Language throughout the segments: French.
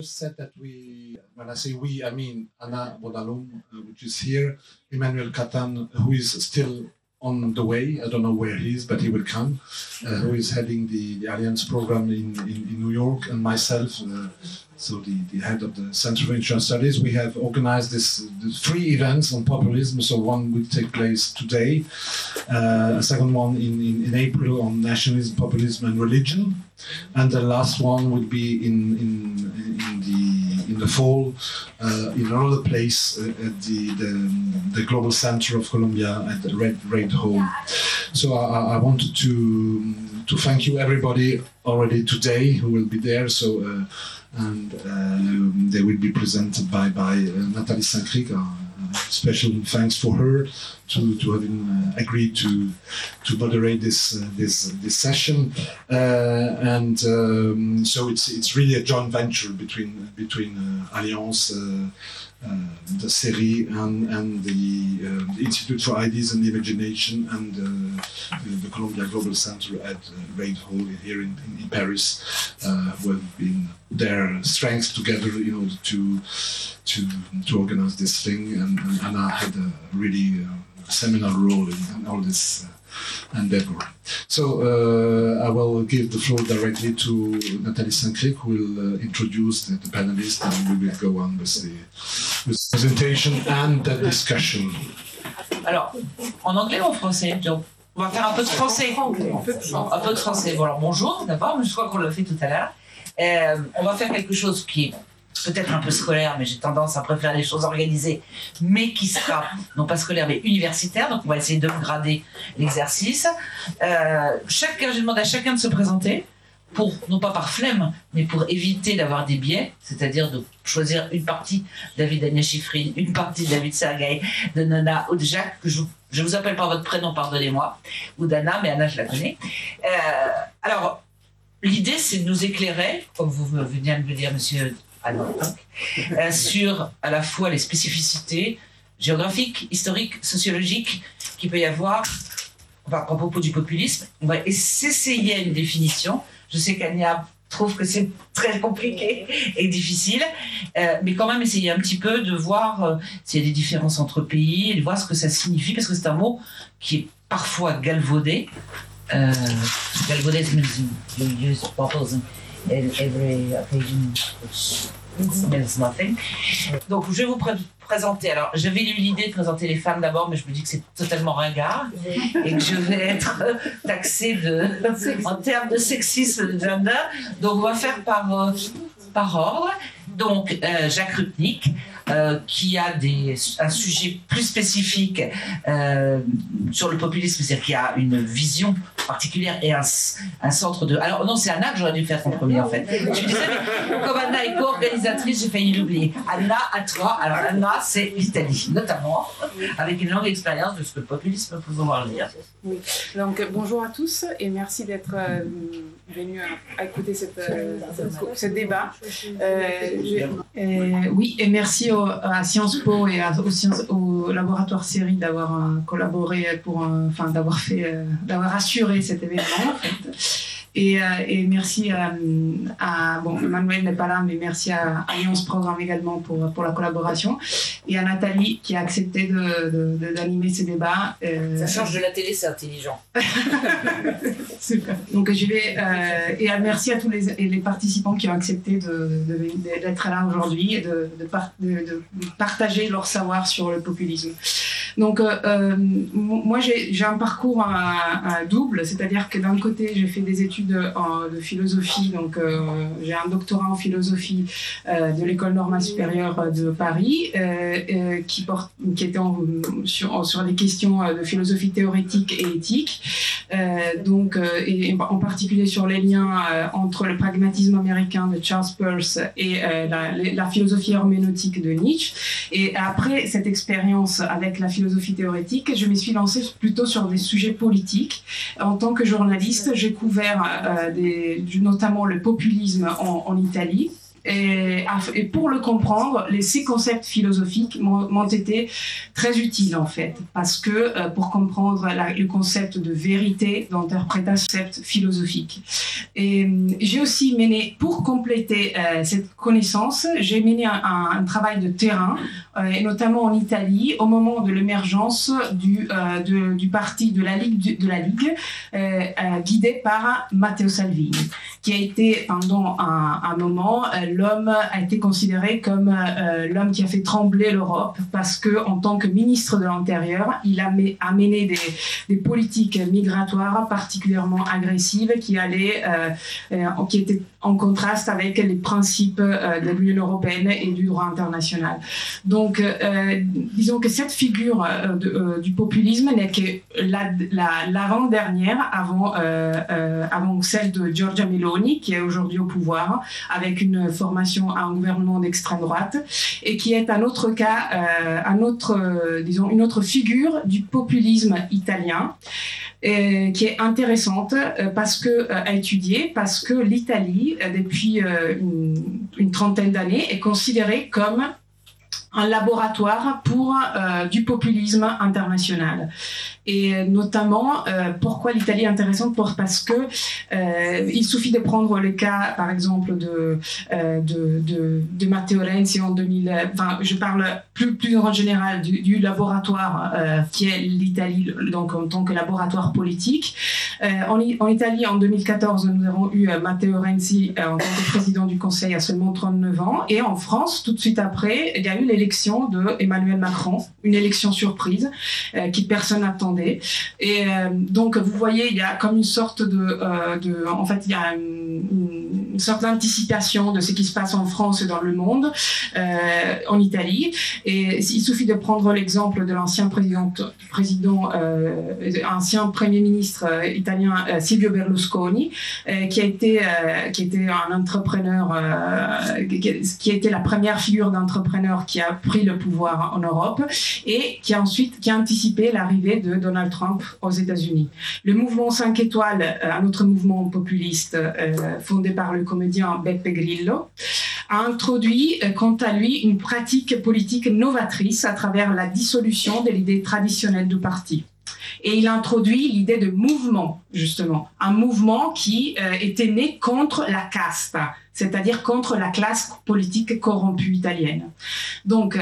said that when I say we, I mean Anna Bodalum, which is here, Emmanuel Catan, who is still on the way, I don't know where he is, but he will come, who is heading the Alliance program in New York, and myself, so the head of the Center for International Studies. We have organized these 3 events on populism, so one will take place today, a second one in April on nationalism, populism and religion, and the last one will be in the fall in another place at the Global Center of Colombia at the Red Hall. So I wanted to thank you everybody already today who will be there. So and they will be presented by Nathalie Saint-Cricq. Special thanks for her to having agreed to moderate this session, and so it's really a joint venture between Alliance, the CERI, and the Institute for Ideas and Imagination, and the Columbia Global Center at Red Hall here in Paris, who have been their strengths together in order to organize this thing, and Anna had a really seminal role in all this endeavor. So I will give the floor directly to Nathalie Saint-Cricq, who will introduce the panelists, and we will go on with the presentation and the discussion. Alors, en anglais ou en français? On va faire un peu de français. Un peu de français. Bon, alors bonjour d'abord, je crois qu'on l'a fait tout à l'heure. On va faire quelque chose qui est peut-être un peu scolaire, mais j'ai tendance à préférer les choses organisées, mais qui sera, non pas scolaire, mais universitaire. Donc on va essayer de grader l'exercice. Je demande à chacun de se présenter, non pas par flemme, mais pour éviter d'avoir des biais, c'est-à-dire de choisir une partie David Ania Schifrin, une partie David Sergueï, de Nana ou de Jacques, que je vous appelle par votre prénom, pardonnez-moi, ou d'Anna, mais Anna je la connais. Alors, l'idée c'est de nous éclairer, comme vous venez de me dire, monsieur sur à la fois les spécificités géographiques, historiques, sociologiques qu'il peut y avoir à propos du populisme. On va s'essayer à une définition. Je sais qu'Ania trouve que c'est très compliqué et difficile, mais quand même essayer un petit peu de voir s'il y a des différences entre pays et de voir ce que ça signifie, parce que c'est un mot qui est parfois galvaudé. Galvaudé means you use populism in every occasion, which means nothing. Donc je vais vous présenter. Alors j'avais eu l'idée de présenter les femmes d'abord, mais je me dis que c'est totalement ringard et que je vais être taxée en termes de sexisme de gender. Donc on va faire par ordre. Donc Jacques Rupnik, qui a un sujet plus spécifique sur le populisme, c'est-à-dire qu'il a une vision particulière et un centre de... Alors non, c'est Anna que j'aurais dû faire en premier en fait. Je suis désolée, mais comme Anna est co-organisatrice, j'ai failli l'oublier. Anna, à toi. Alors Anna, c'est l'Italie, notamment, avec une longue expérience de ce que le populisme peut vouloir dire. Oui. Donc bonjour à tous et merci d'être venus à écouter ce débat. Oui, et merci à Sciences Po et au laboratoire CERI d'avoir collaboré d'avoir assuré cet événement en fait. Et merci bon, Emmanuel n'est pas là, mais merci à Alliance Programme également pour la collaboration, et à Nathalie qui a accepté d'animer ces débats. Ça change de la télé, c'est intelligent. Super. Donc et merci à tous les participants qui ont accepté d'être là aujourd'hui et de partager leur savoir sur le populisme. Donc moi j'ai un parcours à double, c'est-à-dire que d'un côté j'ai fait des études de philosophie, donc j'ai un doctorat en philosophie de l'École normale supérieure de Paris qui était sur des questions de philosophie théorétique et éthique, et en particulier sur les liens entre le pragmatisme américain de Charles Peirce et la philosophie herméneutique de Nietzsche. Et après cette expérience avec la philosophie théorétique, je me suis lancée plutôt sur des sujets politiques. En tant que journaliste, j'ai couvert notamment le populisme en Italie, et pour le comprendre, ces concepts philosophiques m'ont été très utiles en fait, parce que pour comprendre le concept de vérité, d'interprétation, concept philosophique. Et j'ai aussi mené, pour compléter cette connaissance, j'ai mené un travail de terrain, et notamment en Italie, au moment de l'émergence du parti de la Ligue, guidé par Matteo Salvini, qui a été pendant un moment, l'homme a été considéré comme l'homme qui a fait trembler l'Europe, parce que en tant que ministre de l'Intérieur, il a mené des politiques migratoires particulièrement agressives qui étaient en contraste avec les principes de l'Union européenne et du droit international. Donc, disons que cette figure du populisme n'est que l'avant-dernière avant celle de Giorgia Meloni, qui est aujourd'hui au pouvoir, avec une formation à un gouvernement d'extrême droite, et qui est un autre cas, une autre figure du populisme italien, qui est intéressante à étudier, parce que l'Italie, depuis une trentaine d'années, est considérée comme un laboratoire pour du populisme international. Et notamment, pourquoi l'Italie est intéressante? Parce que il suffit de prendre le cas, par exemple, de Matteo Renzi en 2000. Enfin, je parle plus en général du laboratoire qui est l'Italie, donc en tant que laboratoire politique. En Italie, en 2014, nous avons eu Matteo Renzi en tant que président du Conseil à seulement 39 ans. Et en France, tout de suite après, il y a eu l'élection de Emmanuel Macron, une élection surprise qui personne n'attendait. Et donc, vous voyez, il y a comme une sorte en fait, il y a une sorte d'anticipation de ce qui se passe en France et dans le monde, en Italie. Et il suffit de prendre l'exemple de l'ancien ancien premier ministre italien Silvio Berlusconi, qui a été un entrepreneur, qui a été la première figure d'entrepreneur qui a pris le pouvoir en Europe et qui a anticipé l'arrivée de Donald Trump aux États-Unis. Le mouvement 5 étoiles, un autre mouvement populiste fondé par le comédien Beppe Grillo, a introduit, quant à lui, une pratique politique novatrice à travers la dissolution de l'idée traditionnelle du parti. Et il a introduit l'idée de mouvement, justement. Un mouvement qui était né contre la caste, c'est-à-dire contre la classe politique corrompue italienne. Donc,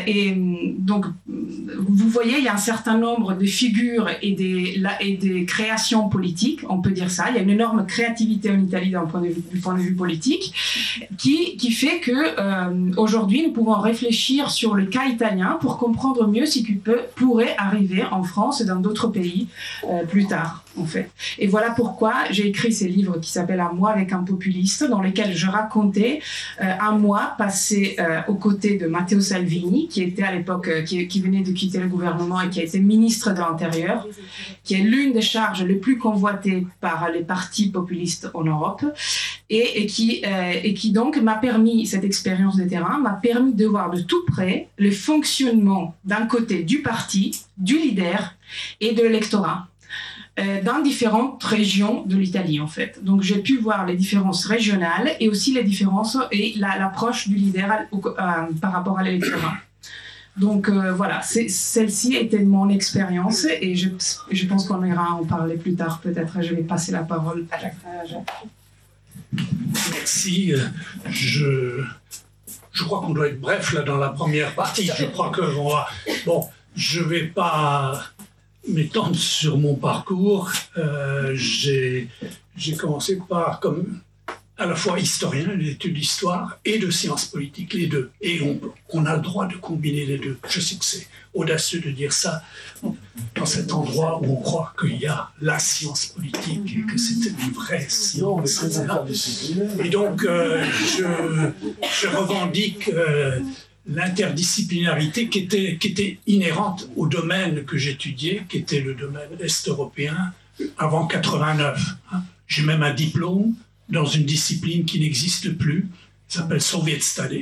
vous voyez, il y a un certain nombre de figures et des créations politiques, on peut dire ça. Il y a une énorme créativité en Italie du point de vue politique, qui fait que aujourd'hui, nous pouvons réfléchir sur le cas italien pour comprendre mieux ce qui pourrait arriver en France et dans d'autres pays plus tard, en fait. Et voilà pourquoi j'ai écrit ces livres qui s'appellent « Un mois avec un populiste », dans lesquels je racontais un mois passé aux côtés de Matteo Salvini, qui était à l'époque, qui venait de quitter le gouvernement et qui a été ministre de l'Intérieur, qui est l'une des charges les plus convoitées par les partis populistes en Europe, et qui donc m'a permis, cette expérience de terrain, m'a permis de voir de tout près le fonctionnement d'un côté du parti, du leader et de l'électorat, dans différentes régions de l'Italie, en fait. Donc, j'ai pu voir les différences régionales et aussi les différences et l'approche du leader par rapport à l'électorat. Donc, voilà, celle-ci était mon expérience et je pense qu'on ira en parler plus tard, peut-être. Je vais passer la parole à Jacques. Merci. Je crois qu'on doit être bref, là, dans la première partie. Je crois que je ne vais pas m'étendre sur mon parcours. J'ai commencé par comme à la fois historien, l'étude d'histoire et de sciences politiques, les deux. Et on a le droit de combiner les deux. Je sais que c'est audacieux de dire ça dans cet endroit où on croit qu'il y a la science politique et que c'est une vraie science. Et donc, je revendique l'interdisciplinarité qui était inhérente au domaine que j'étudiais, qui était le domaine est-européen avant 89. J'ai même un diplôme dans une discipline qui n'existe plus, Il s'appelle Soviet Studies.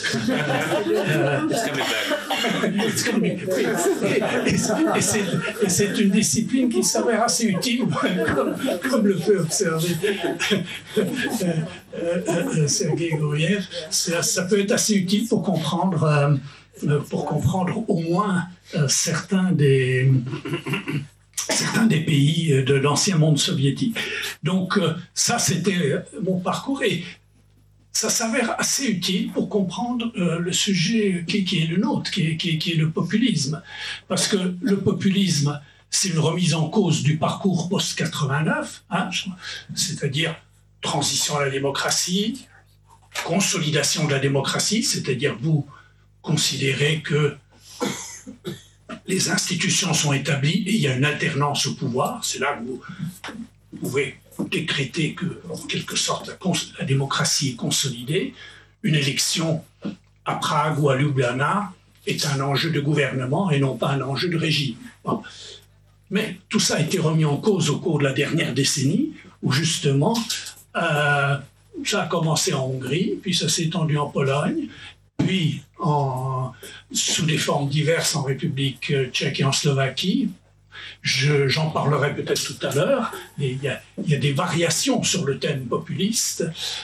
Et c'est une discipline qui s'avère assez utile, comme le fait observer Sergei Gouriev. Ça peut être assez utile pour comprendre au moins certains des pays de l'ancien monde soviétique. Donc ça, c'était mon parcours et ça s'avère assez utile pour comprendre le sujet qui est le nôtre, qui est le populisme. Parce que le populisme, c'est une remise en cause du parcours post-89, hein, c'est-à-dire transition à la démocratie, consolidation de la démocratie, c'est-à-dire vous considérez que les institutions sont établies et il y a une alternance au pouvoir, c'est là que vous pouvez décréter que, en quelque sorte, la démocratie est consolidée. Une élection à Prague ou à Ljubljana est un enjeu de gouvernement et non pas un enjeu de régime. Bon. Mais tout ça a été remis en cause au cours de la dernière décennie, où justement, ça a commencé en Hongrie, puis ça s'est étendu en Pologne, puis sous des formes diverses en République tchèque et en Slovaquie. J'en parlerai peut-être tout à l'heure. Il y a des variations sur le thème populiste.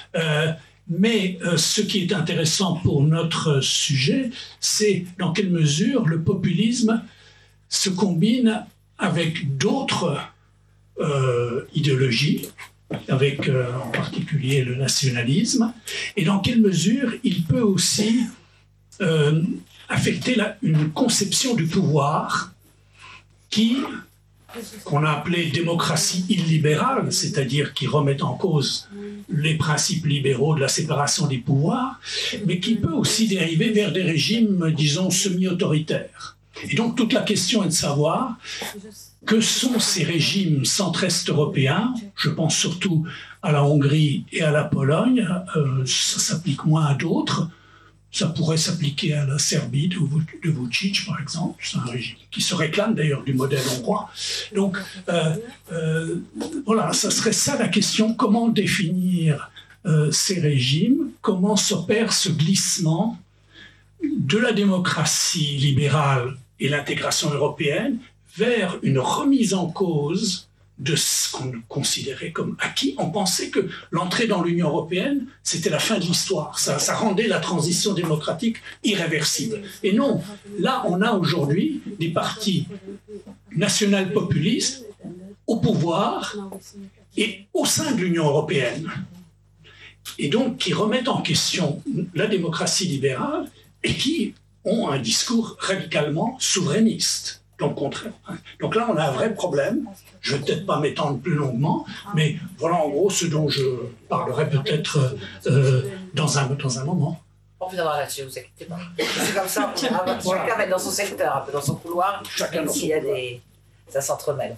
Mais ce qui est intéressant pour notre sujet, c'est dans quelle mesure le populisme se combine avec d'autres idéologies, avec en particulier le nationalisme, et dans quelle mesure il peut aussi affecter une conception du pouvoir qu'on a appelé démocratie illibérale, c'est-à-dire qui remet en cause les principes libéraux de la séparation des pouvoirs, mais qui peut aussi dériver vers des régimes, disons, semi-autoritaires. Et donc toute la question est de savoir que sont ces régimes centre-est européens, je pense surtout à la Hongrie et à la Pologne, ça s'applique moins à d'autres. Ça pourrait s'appliquer à la Serbie de Vučić, par exemple. C'est un régime qui se réclame d'ailleurs du modèle hongrois. Donc, voilà, ça serait ça la question. Comment définir ces régimes? Comment s'opère ce glissement de la démocratie libérale et l'intégration européenne vers une remise en cause de ce qu'on considérait comme acquis? On pensait que l'entrée dans l'Union européenne, c'était la fin de l'histoire. Ça rendait la transition démocratique irréversible. Et non, là, on a aujourd'hui des partis national-populistes au pouvoir et au sein de l'Union européenne. Et donc, qui remettent en question la démocratie libérale et qui ont un discours radicalement souverainiste. Donc là, on a un vrai problème. Je ne vais peut-être pas m'étendre plus longuement, mais voilà en gros ce dont je parlerai peut-être dans un moment. On reviendra là-dessus, vous inquiétez pas. C'est comme ça, chacun va être dans son secteur, un peu dans son couloir, même s'il y a ça s'entremêle.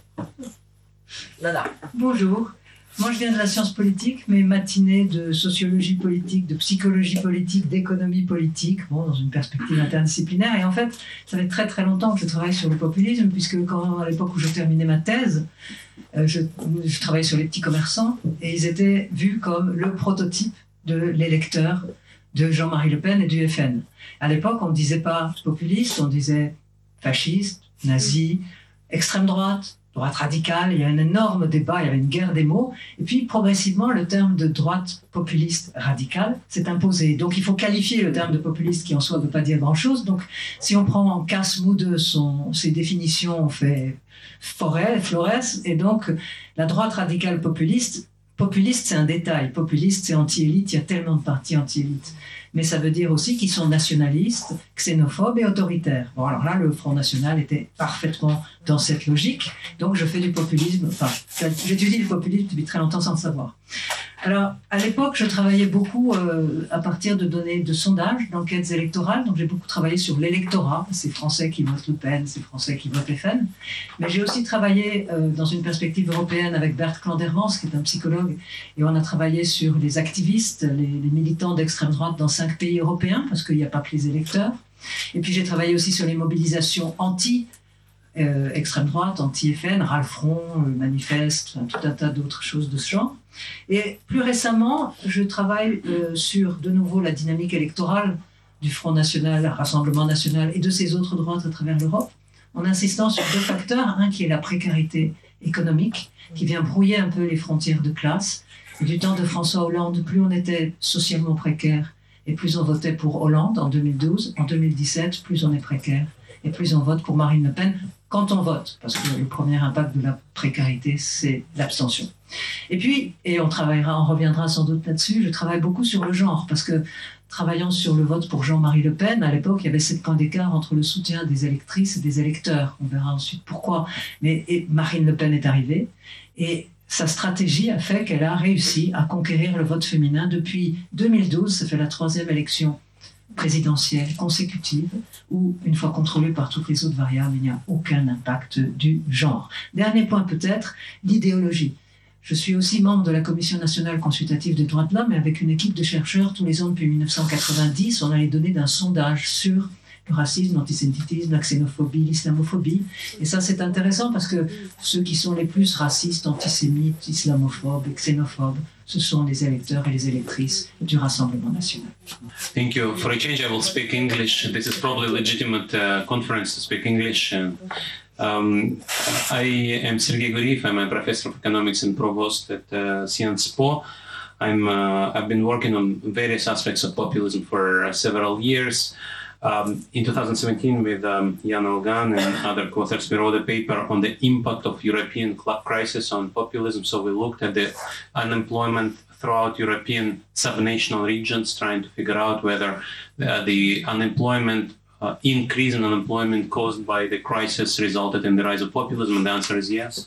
Nana. Bonjour. Moi, je viens de la science politique, mais matinée de sociologie politique, de psychologie politique, d'économie politique, bon, dans une perspective interdisciplinaire. Et en fait, ça fait très très longtemps que je travaille sur le populisme, puisque à l'époque où je terminais ma thèse, je travaillais sur les petits commerçants, et ils étaient vus comme le prototype de l'électeur de Jean-Marie Le Pen et du FN. À l'époque, on ne disait pas populiste, on disait fasciste, nazi, extrême droite radicale. Il y a un énorme débat, il y avait une guerre des mots. Et puis, progressivement, le terme de droite populiste radicale s'est imposé. Donc, il faut qualifier le terme de populiste qui, en soi, ne veut pas dire grand-chose. Donc, si on prend Casse-Moudeux, ses définitions, on fait Flores. Et donc, la droite radicale populiste, c'est un détail. Populiste, c'est anti-élite. Il y a tellement de partis anti-élite. Mais ça veut dire aussi qu'ils sont nationalistes, xénophobes et autoritaires. Bon, alors là, le Front National était parfaitement dans cette logique. Donc, je fais du populisme. Enfin, j'étudie le populisme depuis très longtemps sans le savoir. Alors, à l'époque, je travaillais beaucoup à partir de données de sondages, d'enquêtes électorales. Donc, j'ai beaucoup travaillé sur l'électorat. C'est Français qui votent Le Pen, c'est Français qui votent FN. Mais j'ai aussi travaillé dans une perspective européenne avec Bert Klandermans, qui est un psychologue. Et on a travaillé sur les activistes, les militants d'extrême droite dans 5 pays européens, parce qu'il n'y a pas que les électeurs. Et puis, j'ai travaillé aussi sur les mobilisations extrême droite, anti-FN, Ralph Front, Manifeste, tout un tas d'autres choses de ce genre. Et plus récemment, je travaille sur, de nouveau, la dynamique électorale du Front National, Rassemblement National et de ces autres droites à travers l'Europe, en insistant sur deux facteurs. Un qui est la précarité économique, qui vient brouiller un peu les frontières de classe. Et du temps de François Hollande, plus on était socialement précaire et plus on votait pour Hollande en 2012. En 2017, plus on est précaire et plus on vote pour Marine Le Pen quand on vote, parce que le premier impact de la précarité, c'est l'abstention. Et puis, et on reviendra sans doute là-dessus, je travaille beaucoup sur le genre, parce que travaillant sur le vote pour Jean-Marie Le Pen, à l'époque, il y avait 7 points d'écart entre le soutien des électrices et des électeurs. On verra ensuite pourquoi. Et Marine Le Pen est arrivée, et sa stratégie a fait qu'elle a réussi à conquérir le vote féminin. Depuis 2012, ça fait la 3e élection présidentielle consécutive où, une fois contrôlée par toutes les autres variables, il n'y a aucun impact du genre. Dernier point peut-être, l'idéologie. Je suis aussi membre de la Commission nationale consultative des droits de l'homme et avec une équipe de chercheurs, tous les ans depuis 1990, on a les données d'un sondage sur le racisme, l'antisémitisme, la xénophobie, l'islamophobie. Et ça, c'est intéressant parce que ceux qui sont les plus racistes, antisémites, islamophobes et xénophobes, ce sont les électeurs et les électrices du Rassemblement national. Thank you. For a change, I will speak English. This is probably a legitimate conference to speak English. I am Sergei Guriev. I'm a professor of economics and provost at Sciences Po. I've been working on various aspects of populism for several years. In 2017, with Jan Olgan and other co-authors, we wrote a paper on the impact of European crisis on populism. So we looked at the unemployment throughout European subnational regions, trying to figure out whether the increase in unemployment caused by the crisis resulted in the rise of populism, and the answer is yes.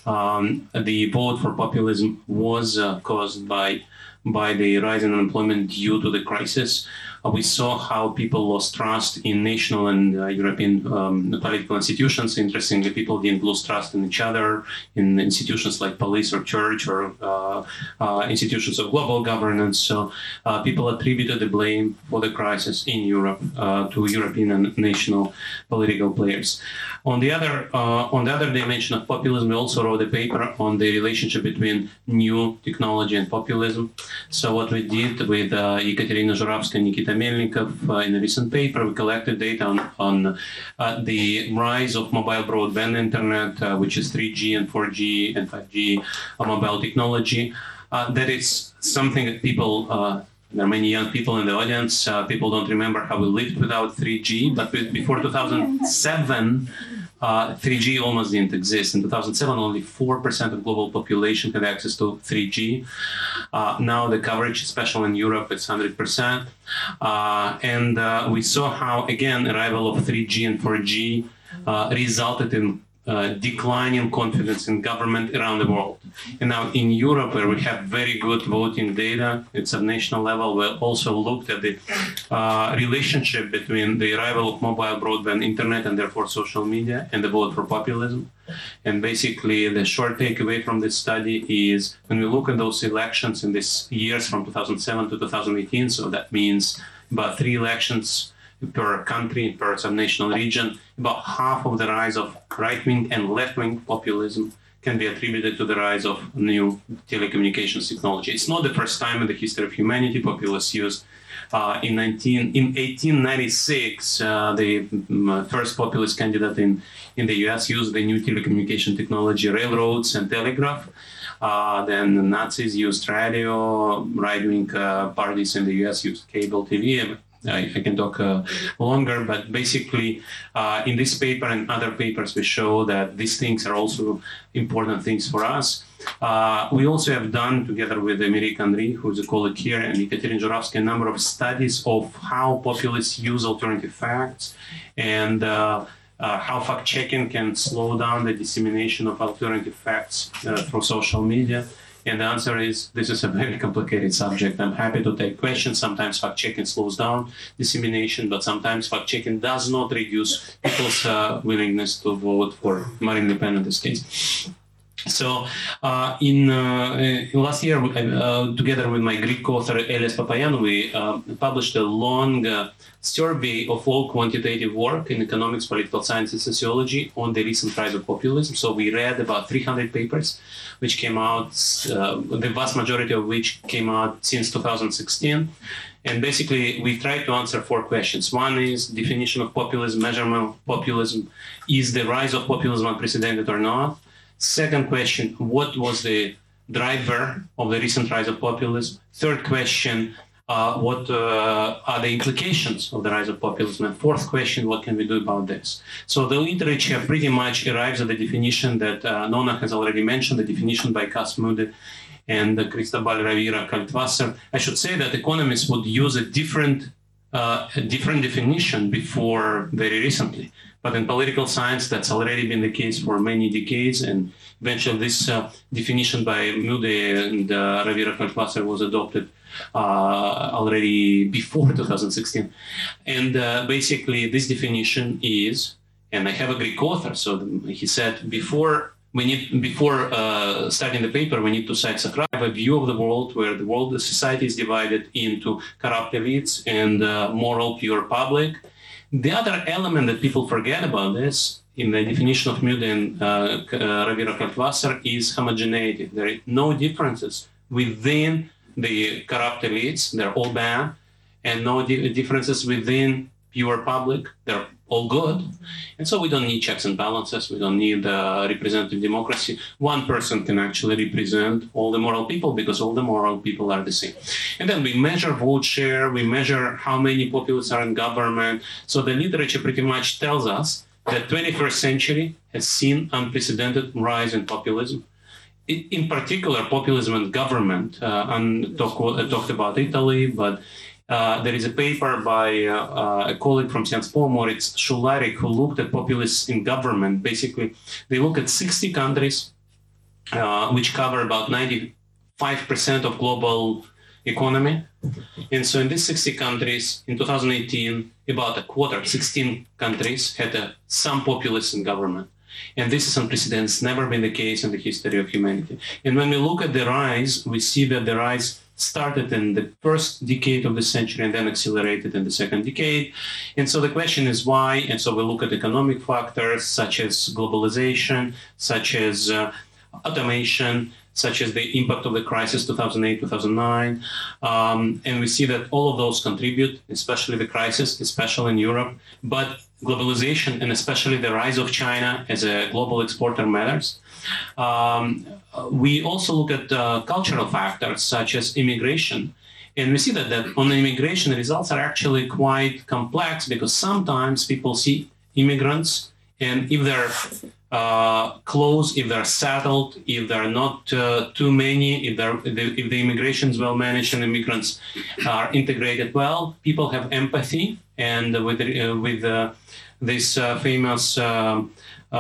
The vote for populism was caused by the rise in unemployment due to the crisis. We saw how people lost trust in national and European political institutions. Interestingly, people didn't lose trust in each other, in institutions like police or church or institutions of global governance. So people attributed the blame for the crisis in Europe to European and national political players. On the other dimension of populism, we also wrote a paper on the relationship between new technology and populism. So what we did with Ekaterina Zhuravskaya and Nikita Melnikov in a recent paper, we collected data on the rise of mobile broadband internet, which is 3G and 4G and 5G mobile technology. That is something that people, there are many young people in the audience, people don't remember how we lived without 3G, but before 2007, 3G almost didn't exist. In 2007, only 4% of global population had access to 3G. Now the coverage, especially in Europe, is 100%. And we saw how, again, arrival of 3G and 4G resulted in declining confidence in government around the world. And now in Europe, where we have very good voting data at subnational level, we also looked at the relationship between the arrival of mobile broadband internet and therefore social media and the vote for populism. And basically the short takeaway from this study is when we look at those elections in these years from 2007 to 2018, so that means about 3 elections per country, per subnational region, about half of the rise of right-wing and left-wing populism can be attributed to the rise of new telecommunications technology. It's not the first time in the history of humanity populists used. In 1896, the first populist candidate in the US used the new telecommunication technology, railroads and telegraph. Then the Nazis used radio, right-wing parties in the US used cable TV. I can talk longer, but basically in this paper and other papers, we show that these things are also important things for us. We also have done, together with Emilie Henry, who's a colleague here, and Ekaterina Zhuravskaya, a number of studies of how populists use alternative facts and how fact-checking can slow down the dissemination of alternative facts through social media. And the answer is, this is a very complicated subject. I'm happy to take questions. Sometimes fact-checking slows down dissemination, but sometimes fact-checking does not reduce people's willingness to vote for Marine Le Pen in this case. So in last year, together with my Greek author Elias Papayan, we published a long survey of all quantitative work in economics, political science, and sociology on the recent rise of populism. So we read about 300 papers, which came out, the vast majority of which came out since 2016. And basically, we tried to answer 4 questions. One is definition of populism, measurement of populism. Is the rise of populism unprecedented or not? Second question, what was the driver of the recent rise of populism? Third question, what are the implications of the rise of populism? And fourth question, what can we do about this? So the literature pretty much arrives at the definition that Nona has already mentioned, the definition by Cas Mudde and Cristobal Ravira Kaltwasser. I should say that economists would use a different definition before very recently. But in political science, that's already been the case for many decades, and eventually this definition by Mudde and Ravira Kaltwasser was adopted already before 2016. And basically, this definition is, and I have a Greek author, so he said before starting the paper, we need to cite Socrates, a view of the world where the society is divided into corrupt elites and moral pure public. The other element that people forget about this, in the definition of Mudde and Ravira Kaltwasser, is homogeneity. There are no differences within the corrupt elites, they're all bad, and no differences within pure public, they're all good. And so we don't need checks and balances, we don't need representative democracy. One person can actually represent all the moral people because all the moral people are the same. And then we measure vote share, we measure how many populists are in government. So the literature pretty much tells us that 21st century has seen unprecedented rise in populism. In particular, populism and government. Talked about Italy, but there is a paper by a colleague from Sciences Po, Moritz Schularik, who looked at populists in government. Basically, they look at 60 countries, which cover about 95% of global economy. And so in these 60 countries, in 2018, about a quarter, 16 countries, had some populists in government. And this is unprecedented. It's never been the case in the history of humanity. And when we look at the rise, we see that the rise started in the first decade of the century and then accelerated in the second decade. And so the question is why? And so we look at economic factors such as globalization, such as automation, such as the impact of the crisis 2008, 2009. And we see that all of those contribute, especially the crisis, especially in Europe. But globalization and especially the rise of China as a global exporter matters. We also look at cultural factors such as immigration. And we see that on immigration, the results are actually quite complex because sometimes people see immigrants, and if they're close, if they're settled, if there are not too many, if the immigration is well managed and immigrants are integrated well, people have empathy. And with this famous Gordon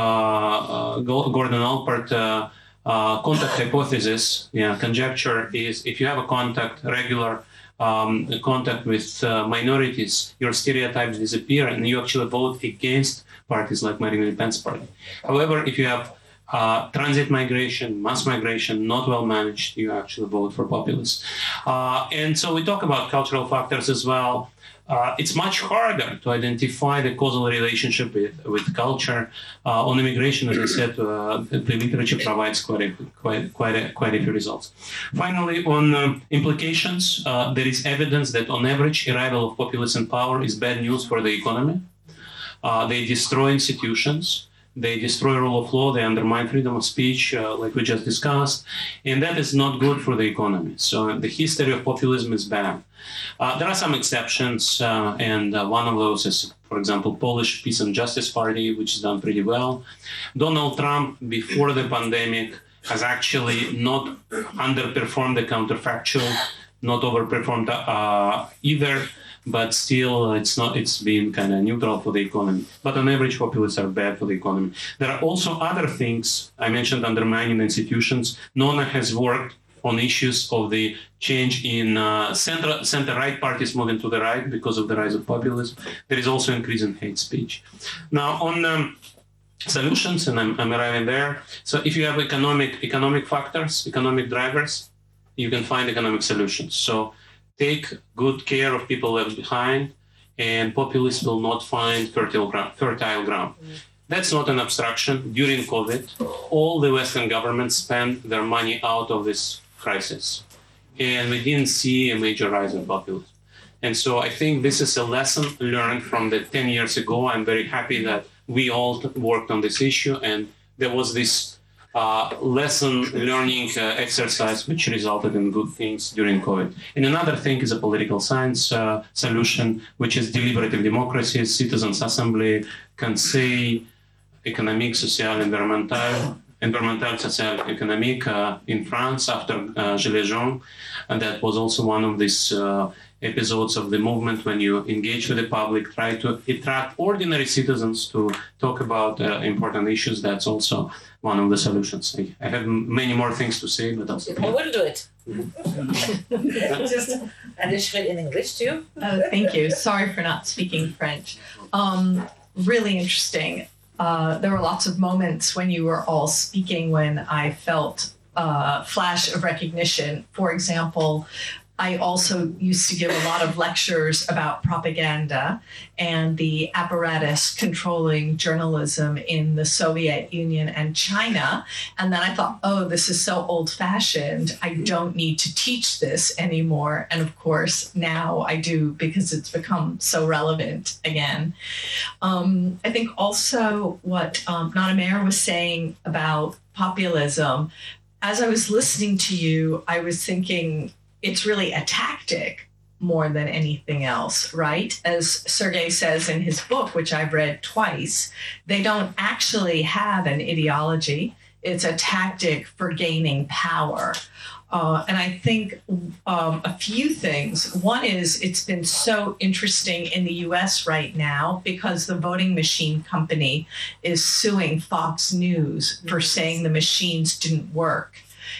Allport contact hypothesis, conjecture is if you have a regular contact with minorities, your stereotypes disappear and you actually vote against parties like Marine Le Pen's party. However, if you have transit migration, mass migration, not well managed, you actually vote for populists. And so we talk about cultural factors as well. It's much harder to identify the causal relationship with culture. On immigration, as I said, the literature provides quite a few results. Finally, on implications, there is evidence that on average, arrival of populists in power is bad news for the economy. They destroy institutions. They destroy rule of law, they undermine freedom of speech, like we just discussed, and that is not good for the economy. So the history of populism is bad. There are some exceptions, and one of those is, for example, Polish Peace and Justice Party, which has done pretty well. Donald Trump, before the pandemic, has actually not underperformed the counterfactual, not overperformed either. But still, it's been kind of neutral for the economy. But on average, populists are bad for the economy. There are also other things. I mentioned undermining institutions. Nona has worked on issues of the change in center-right parties moving to the right because of the rise of populism. There is also increase in hate speech. Now, on solutions, and I'm arriving there. So if you have economic factors, economic drivers, you can find economic solutions. So take good care of people left behind, and populists will not find fertile ground. That's not an abstraction. During COVID, all the Western governments spent their money out of this crisis, and we didn't see a major rise in populism. And so I think this is a lesson learned from the 10 years ago. I'm very happy that we all worked on this issue, and there was this lesson learning exercise which resulted in good things during COVID. And another thing is a political science solution, which is deliberative democracy, citizens' assembly, conseil économique, social, environmental, social, économique in France after Gilets jaunes. And that was also one of these episodes of the movement when you engage with the public, try to attract ordinary citizens to talk about important issues. That's also one of the solutions. I have many more things to say, but also... I will do it. Just additional in English too. Thank you. Sorry for not speaking French. Really interesting. There were lots of moments when you were all speaking when I felt a flash of recognition. For example, I also used to give a lot of lectures about propaganda and the apparatus controlling journalism in the Soviet Union and China. And then I thought, oh, this is so old-fashioned. I don't need to teach this anymore. And of course, now I do because it's become so relevant again. I think also what Nana Meir was saying about populism, as I was listening to you, I was thinking, it's really a tactic more than anything else, right? As Sergei says in his book, which I've read twice, they don't actually have an ideology. It's a tactic for gaining power. And I think a few things. One is it's been so interesting in the US right now because the voting machine company is suing Fox News for saying the machines didn't work.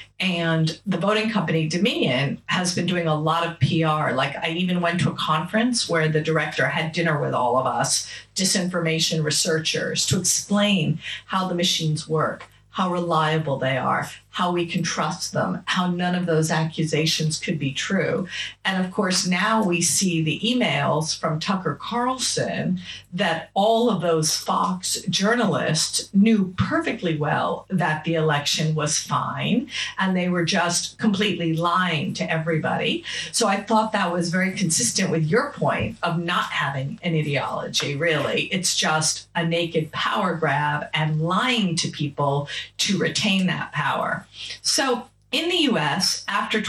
And the voting company, Dominion, has been doing a lot of PR. Like I even went to a conference where the director had dinner with all of us, disinformation researchers, to explain how the machines work, how reliable they are, how we can trust them, how none of those accusations could be true. And of course, now we see the emails from Tucker Carlson that all of those Fox journalists knew perfectly well that the election was fine, and they were just completely lying to everybody. So I thought that was very consistent with your point of not having an ideology, really. It's just a naked power grab and lying to people to retain that power. So in the US, after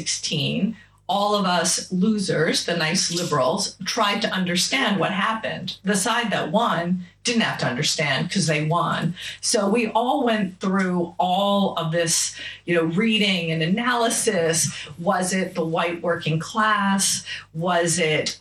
2016, all of us losers, the nice liberals, tried to understand what happened. The side that won didn't have to understand because they won. So we all went through all of this, reading and analysis. Was it the white working class? Was it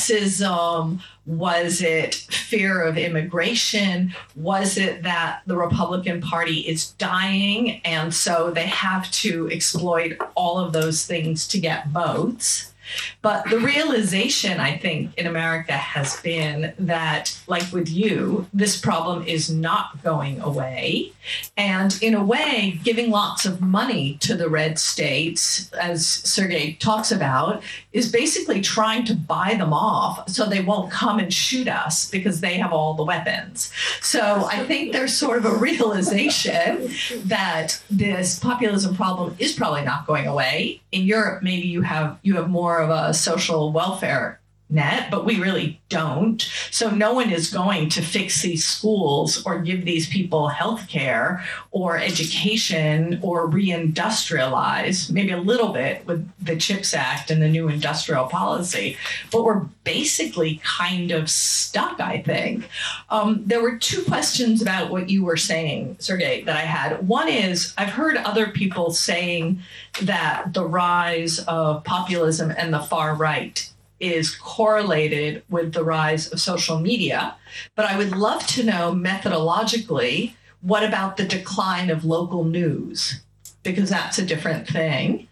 racism? Was it fear of immigration? Was it that the Republican Party is dying and so they have to exploit all of those things to get votes? But the realization, I think, in America has been that, like with you, this problem is not going away. And in a way, giving lots of money to the red states, as Sergei talks about, is basically trying to buy them off so they won't come and shoot us because they have all the weapons. So I think there's sort of a realization that this populism problem is probably not going away. In Europe, maybe you have more of a social welfare net, but we really don't. So no one is going to fix these schools or give these people health care or education or reindustrialize, maybe a little bit with the CHIPS Act and the new industrial policy. But we're basically kind of stuck, I think. There were two questions about what you were saying, Sergei, that I had. One is, I've heard other people saying that the rise of populism and the far right is correlated with the rise of social media. But I would love to know methodologically, what about the decline of local news? Because that's a different thing.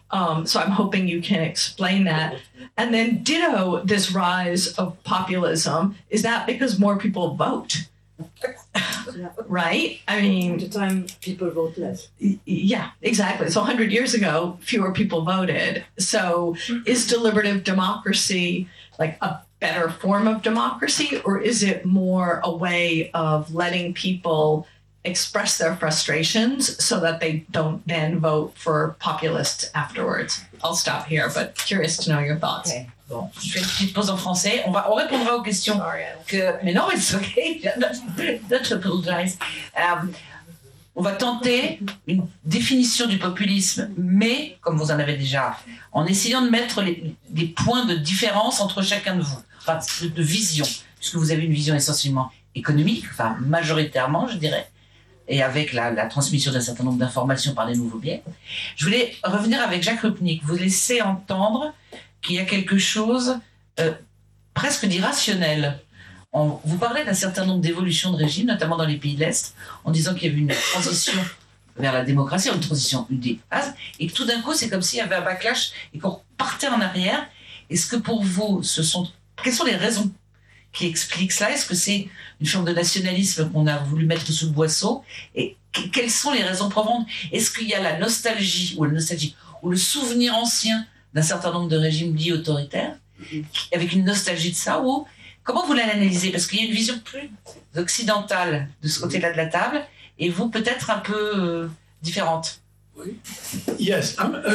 So I'm hoping you can explain that. And then ditto this rise of populism, is that because more people vote? Right? I mean, At the time, people vote less. yeah, exactly. So 100 years ago, fewer people voted. So is deliberative democracy like a better form of democracy, or is it more a way of letting people express their frustrations so that they don't then vote for populists afterwards? I'll stop here, but curious to know your thoughts. Okay. Bon, je fais une petite pause en français. On répondra aux questions que. Mais non, it's okay. Don't apologize. On va tenter une définition du populisme, mais, comme vous en avez déjà, en essayant de mettre des points de différence entre chacun de vous, enfin, de vision, puisque vous avez une vision essentiellement économique, enfin, majoritairement, je dirais, et avec la transmission d'un certain nombre d'informations par des nouveaux biais. Je voulais revenir avec Jacques Rupnik. Vous laissez entendre qu'il y a quelque chose presque d'irrationnel. Vous parlez d'un certain nombre d'évolutions de régime, notamment dans les pays de l'Est, en disant qu'il y avait une transition vers la démocratie, une transition des bases, et que tout d'un coup, c'est comme s'il y avait un backlash et qu'on repartait en arrière. Est-ce que pour vous, quelles sont les raisons qui expliquent cela? Est-ce que c'est une forme de nationalisme qu'on a voulu mettre sous le boisseau? Et quelles sont les raisons profondes? Est-ce qu'il y a la nostalgie ou le souvenir ancien d'un certain nombre de régimes dits autoritaires, avec une nostalgie de ça, ou comment vous l'analysez? Parce qu'il y a une vision plus occidentale de ce côté-là de la table, et vous peut-être un peu différente. Yes,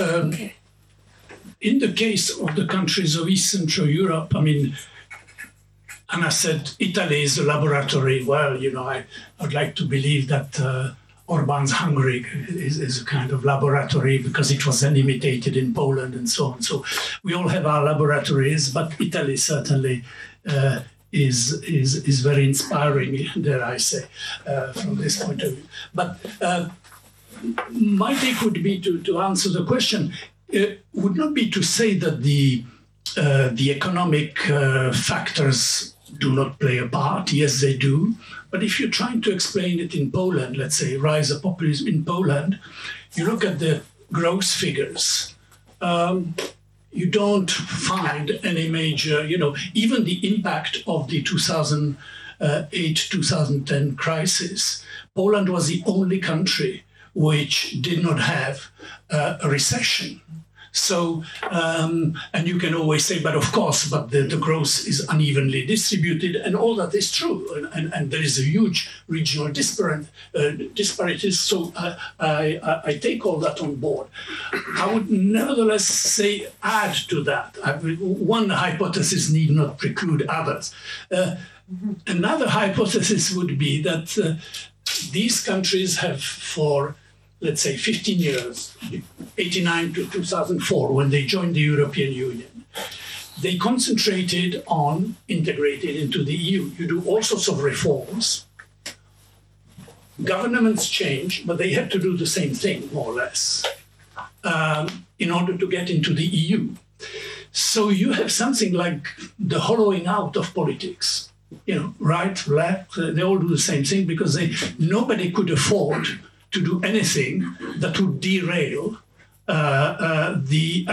in the case of the countries of East Central Europe, I mean, Anna said Italy is a laboratory. Well, you know, I'd like to believe that Orban's Hungary is a kind of laboratory because it was then imitated in Poland and so on. So we all have our laboratories, but Italy certainly is very inspiring, dare I say, from this point of view. But my take would be to answer the question. Would not be to say that the economic factors do not play a part. Yes, they do. But if you're trying to explain it in Poland, let's say rise of populism in Poland, you look at the growth figures. You don't find any major, even the impact of the 2008-2010 crisis. Poland was the only country which did not have a recession. So, and you can always say, but of course, the growth is unevenly distributed, and all that is true, and there is a huge regional disparities. So I take all that on board. I would nevertheless add to that. One hypothesis need not preclude others. Another hypothesis would be that these countries have, for let's say 15 years, 89 to 2004, when they joined the European Union, they concentrated on integrating into the EU. You do all sorts of reforms. Governments change, but they have to do the same thing, more or less, in order to get into the EU. So you have something like the hollowing out of politics. Right, left, they all do the same thing because nobody could afford to do anything that would derail the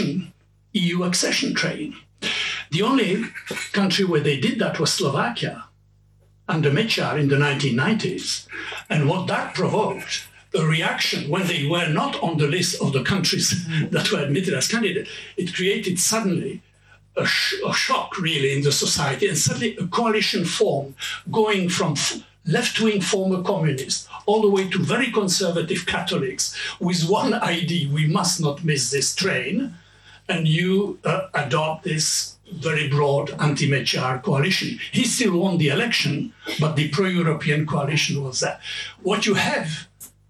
EU accession train. The only country where they did that was Slovakia under Mečiar in the 1990s. And what that provoked, a reaction when they were not on the list of the countries that were admitted as candidates, it created suddenly a shock really in the society, and suddenly a coalition formed going from left-wing former communists all the way to very conservative Catholics with one idea: we must not miss this train, and you adopt this very broad anti-Mečiar coalition. He still won the election, but the pro-European coalition was there. What you have,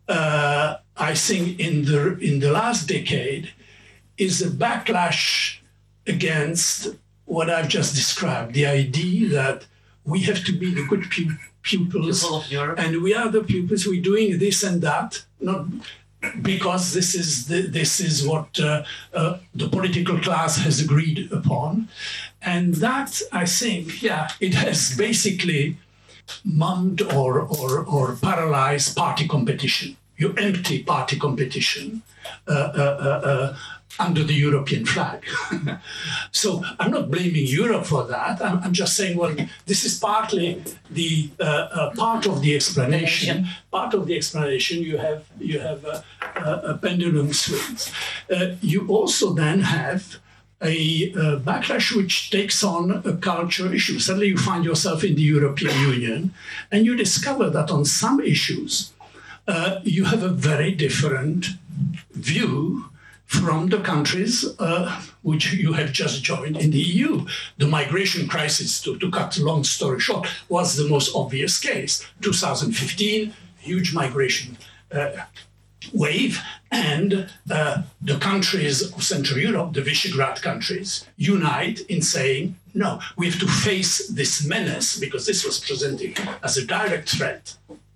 I think, in the last decade is a backlash against what I've just described, the idea that we have to be the good pupils, and we are the pupils. We're doing this and that, not because this is what the political class has agreed upon, and that I think, it has basically mummed or paralyzed party competition. You empty party competition under the European flag. So I'm not blaming Europe for that. I'm just saying, well, this is partly the part of the explanation. Part of the explanation, you have a pendulum swings. You also then have a backlash which takes on a cultural issue. Suddenly you find yourself in the European Union and you discover that on some issues you have a very different view from the countries which you have just joined in the EU. The migration crisis, to cut a long story short, was the most obvious case. 2015, huge migration wave, and the countries of Central Europe, the Visegrad countries, unite in saying, no, we have to face this menace, because this was presented as a direct threat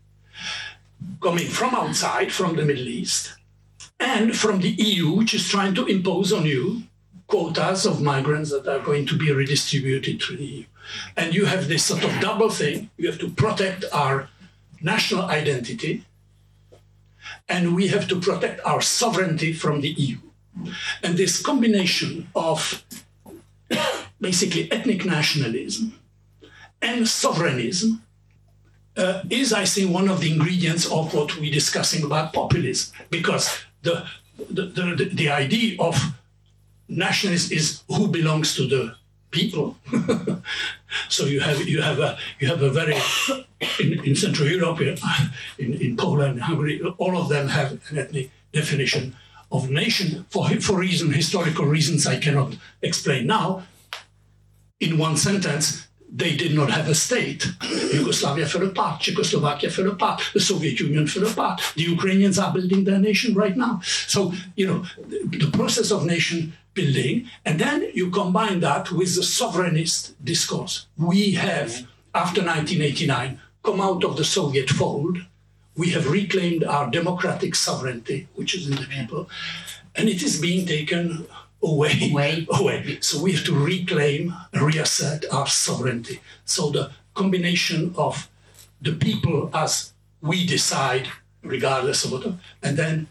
coming from outside, from the Middle East, and from the EU, which is trying to impose on you quotas of migrants that are going to be redistributed through the EU. And you have this sort of double thing. You have to protect our national identity, and we have to protect our sovereignty from the EU. And this combination of basically ethnic nationalism and sovereignism is, I think, one of the ingredients of what we're discussing about populism, because the idea of nationalism is who belongs to the people. So you have a very in Central Europe, in Poland, Hungary, all of them have an ethnic definition of nation for historical reasons I cannot explain now. In one sentence, they did not have a state. Yugoslavia fell apart, Czechoslovakia fell apart, the Soviet Union fell apart. The Ukrainians are building their nation right now. So, the process of nation building, and then you combine that with the sovereignist discourse. We have, after 1989, come out of the Soviet fold. We have reclaimed our democratic sovereignty, which is in the people, and it is being taken away. So we have to reclaim, reassert our sovereignty. So the combination of the people as we decide, regardless of what, and then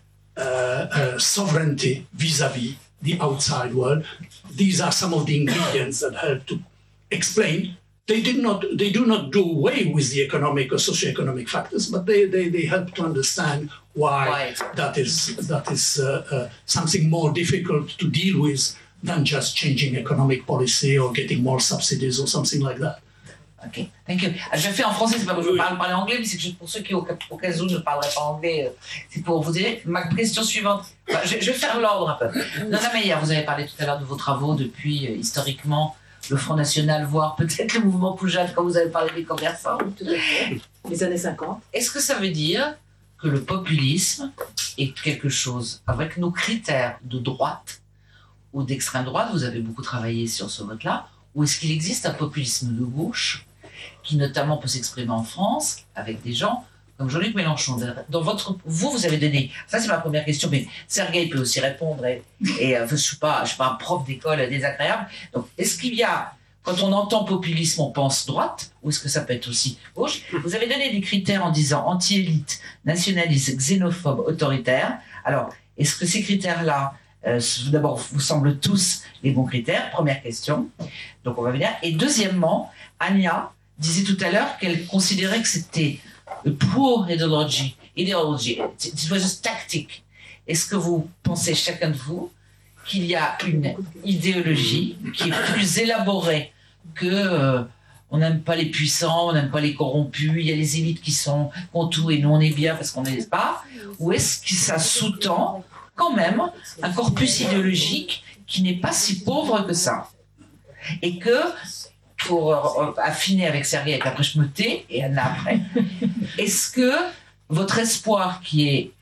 sovereignty vis-a-vis the outside world. These are some of the ingredients that help to explain. They do not do away with the economic or socioeconomic factors, but they help to understand why that is something more difficult to deal with than just changing economic policy or getting more subsidies or something like that. Ok, thank you. Je le fais en français, c'est pas parce que je parle anglais, mais c'est juste pour ceux qui, au cas où, ne parleraient pas anglais, c'est pour vous aider. Ma question suivante, je vais faire l'ordre un peu. Nana Meyer, vous avez parlé tout à l'heure de vos travaux depuis, historiquement, le Front National, voire peut-être le mouvement Poujade, quand vous avez parlé des commerçants. Tout à fait. Les années 50. Est-ce que ça veut dire que le populisme est quelque chose, avec nos critères de droite ou d'extrême droite, vous avez beaucoup travaillé sur ce vote-là, ou est-ce qu'il existe un populisme de gauche qui notamment peut s'exprimer en France avec des gens comme Jean-Luc Mélenchon? Dans vous avez donné, ça c'est ma première question, mais Sergueï peut aussi répondre, et je suis pas un prof d'école désagréable. Donc est-ce qu'il y a, quand on entend populisme, on pense droite, ou est-ce que ça peut être aussi gauche? Vous avez donné des critères en disant anti-élite, nationaliste, xénophobe, autoritaire. Alors, est-ce que ces critères-là, d'abord, vous semblent tous les bons critères? Première question. Donc on va venir. Et deuxièmement, Anya disait tout à l'heure qu'elle considérait que c'était poor ideology, it was just tactique. Est-ce que vous pensez, chacun de vous, qu'il y a une idéologie qui est plus élaborée que on n'aime pas les puissants, on n'aime pas les corrompus, il y a les élites qui ont tout et nous on est bien parce qu'on n'est pas? Ou est-ce que ça sous-tend quand même un corpus idéologique qui n'est pas si pauvre que ça? Et que, pour affiner avec Sergueï, et après je me tais, et Anna après, est-ce que votre espoir qui est,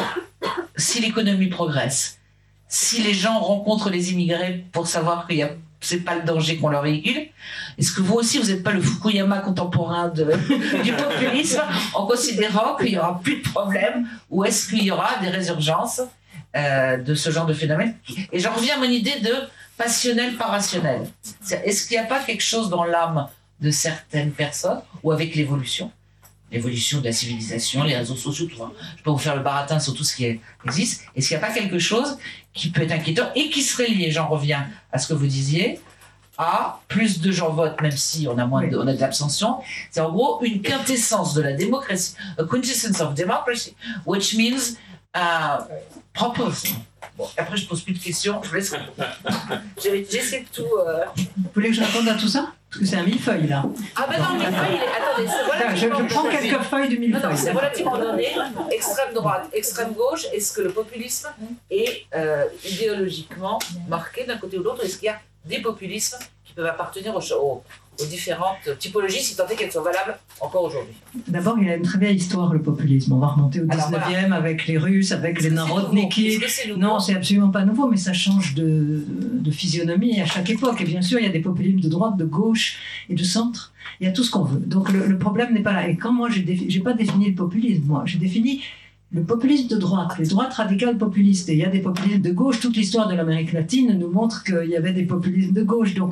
si l'économie progresse, si les gens rencontrent les immigrés pour savoir que c'est pas le danger qu'on leur véhicule, est-ce que vous aussi, vous n'êtes pas le Fukuyama contemporain du populisme, en considérant qu'il n'y aura plus de problème, ou est-ce qu'il y aura des résurgences de ce genre de phénomène? Et j'en reviens à mon idée de passionnel par rationnel. Est-ce qu'il n'y a pas quelque chose dans l'âme de certaines personnes, ou avec l'évolution, l'évolution de la civilisation, les réseaux sociaux, tout ça. Je peux vous faire le baratin sur tout ce qui existe. Est-ce qu'il n'y a pas quelque chose qui peut être inquiétant et qui serait lié, j'en reviens à ce que vous disiez, à plus de gens votent, même si on a on a de l'abstention. C'est en gros une quintessence de la démocratie, a quintessence of democracy, which means populism. Bon, après je pose plus de questions, je vous laisse répondre. J'essaie de tout. Vous voulez que je réponde à tout ça? Parce que c'est un millefeuille là. Ah ben non, millefeuille, attendez, c'est relativement je prends quelques feuilles du millefeuille. Non, c'est relativement donné. Extrême droite, extrême gauche. Est-ce que le populisme est idéologiquement marqué d'un côté ou de l'autre? Est-ce qu'il y a des populismes qui peuvent appartenir aux différentes typologies, si tant est qu'elles sont valables encore aujourd'hui? D'abord, il y a une très vieille histoire, le populisme. On va remonter au 19e avec les Russes, avec les Narodniki. Non, c'est absolument pas nouveau, mais ça change de physionomie à chaque époque. Et bien sûr, il y a des populismes de droite, de gauche et de centre. Il y a tout ce qu'on veut. Donc le problème n'est pas là. Et quand moi, j'ai pas défini le populisme, moi, j'ai défini le populisme de droite, les droites radicales populistes. Et il y a des populismes de gauche. Toute l'histoire de l'Amérique latine nous montre qu'il y avait des populismes de gauche. Donc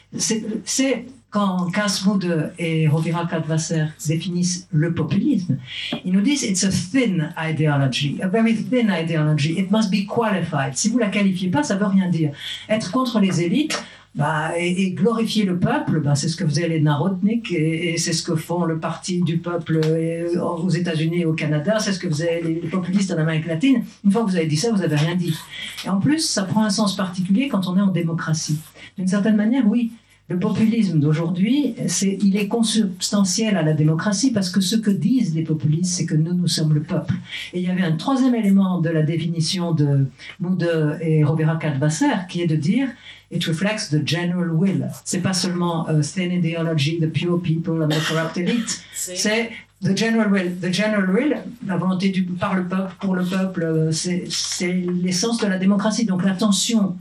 c'est quand Kasmude et Rovira Kadvasser définissent le populisme, ils nous disent it's a thin ideology, a very thin ideology. It must be qualified. Si vous la qualifiez pas, ça veut rien dire. Être contre les élites. Et glorifier le peuple, c'est ce que faisaient les Narodnik et c'est ce que font le parti du peuple aux États-Unis et au Canada, c'est ce que faisaient les populistes en Amérique latine. Une fois que vous avez dit ça, vous n'avez rien dit. Et en plus, ça prend un sens particulier quand on est en démocratie. D'une certaine manière, oui, le populisme d'aujourd'hui, il est consubstantiel à la démocratie parce que ce que disent les populistes, c'est que nous sommes le peuple. Et il y avait un troisième élément de la définition de Mude et Rovira Kadvasser qui est de dire it reflects the general will. C'est pas seulement thin ideology, the pure people and the corrupt elite. C'est the general will. The general will, la volonté par le peuple, pour le peuple, c'est l'essence de la démocratie. Donc la tension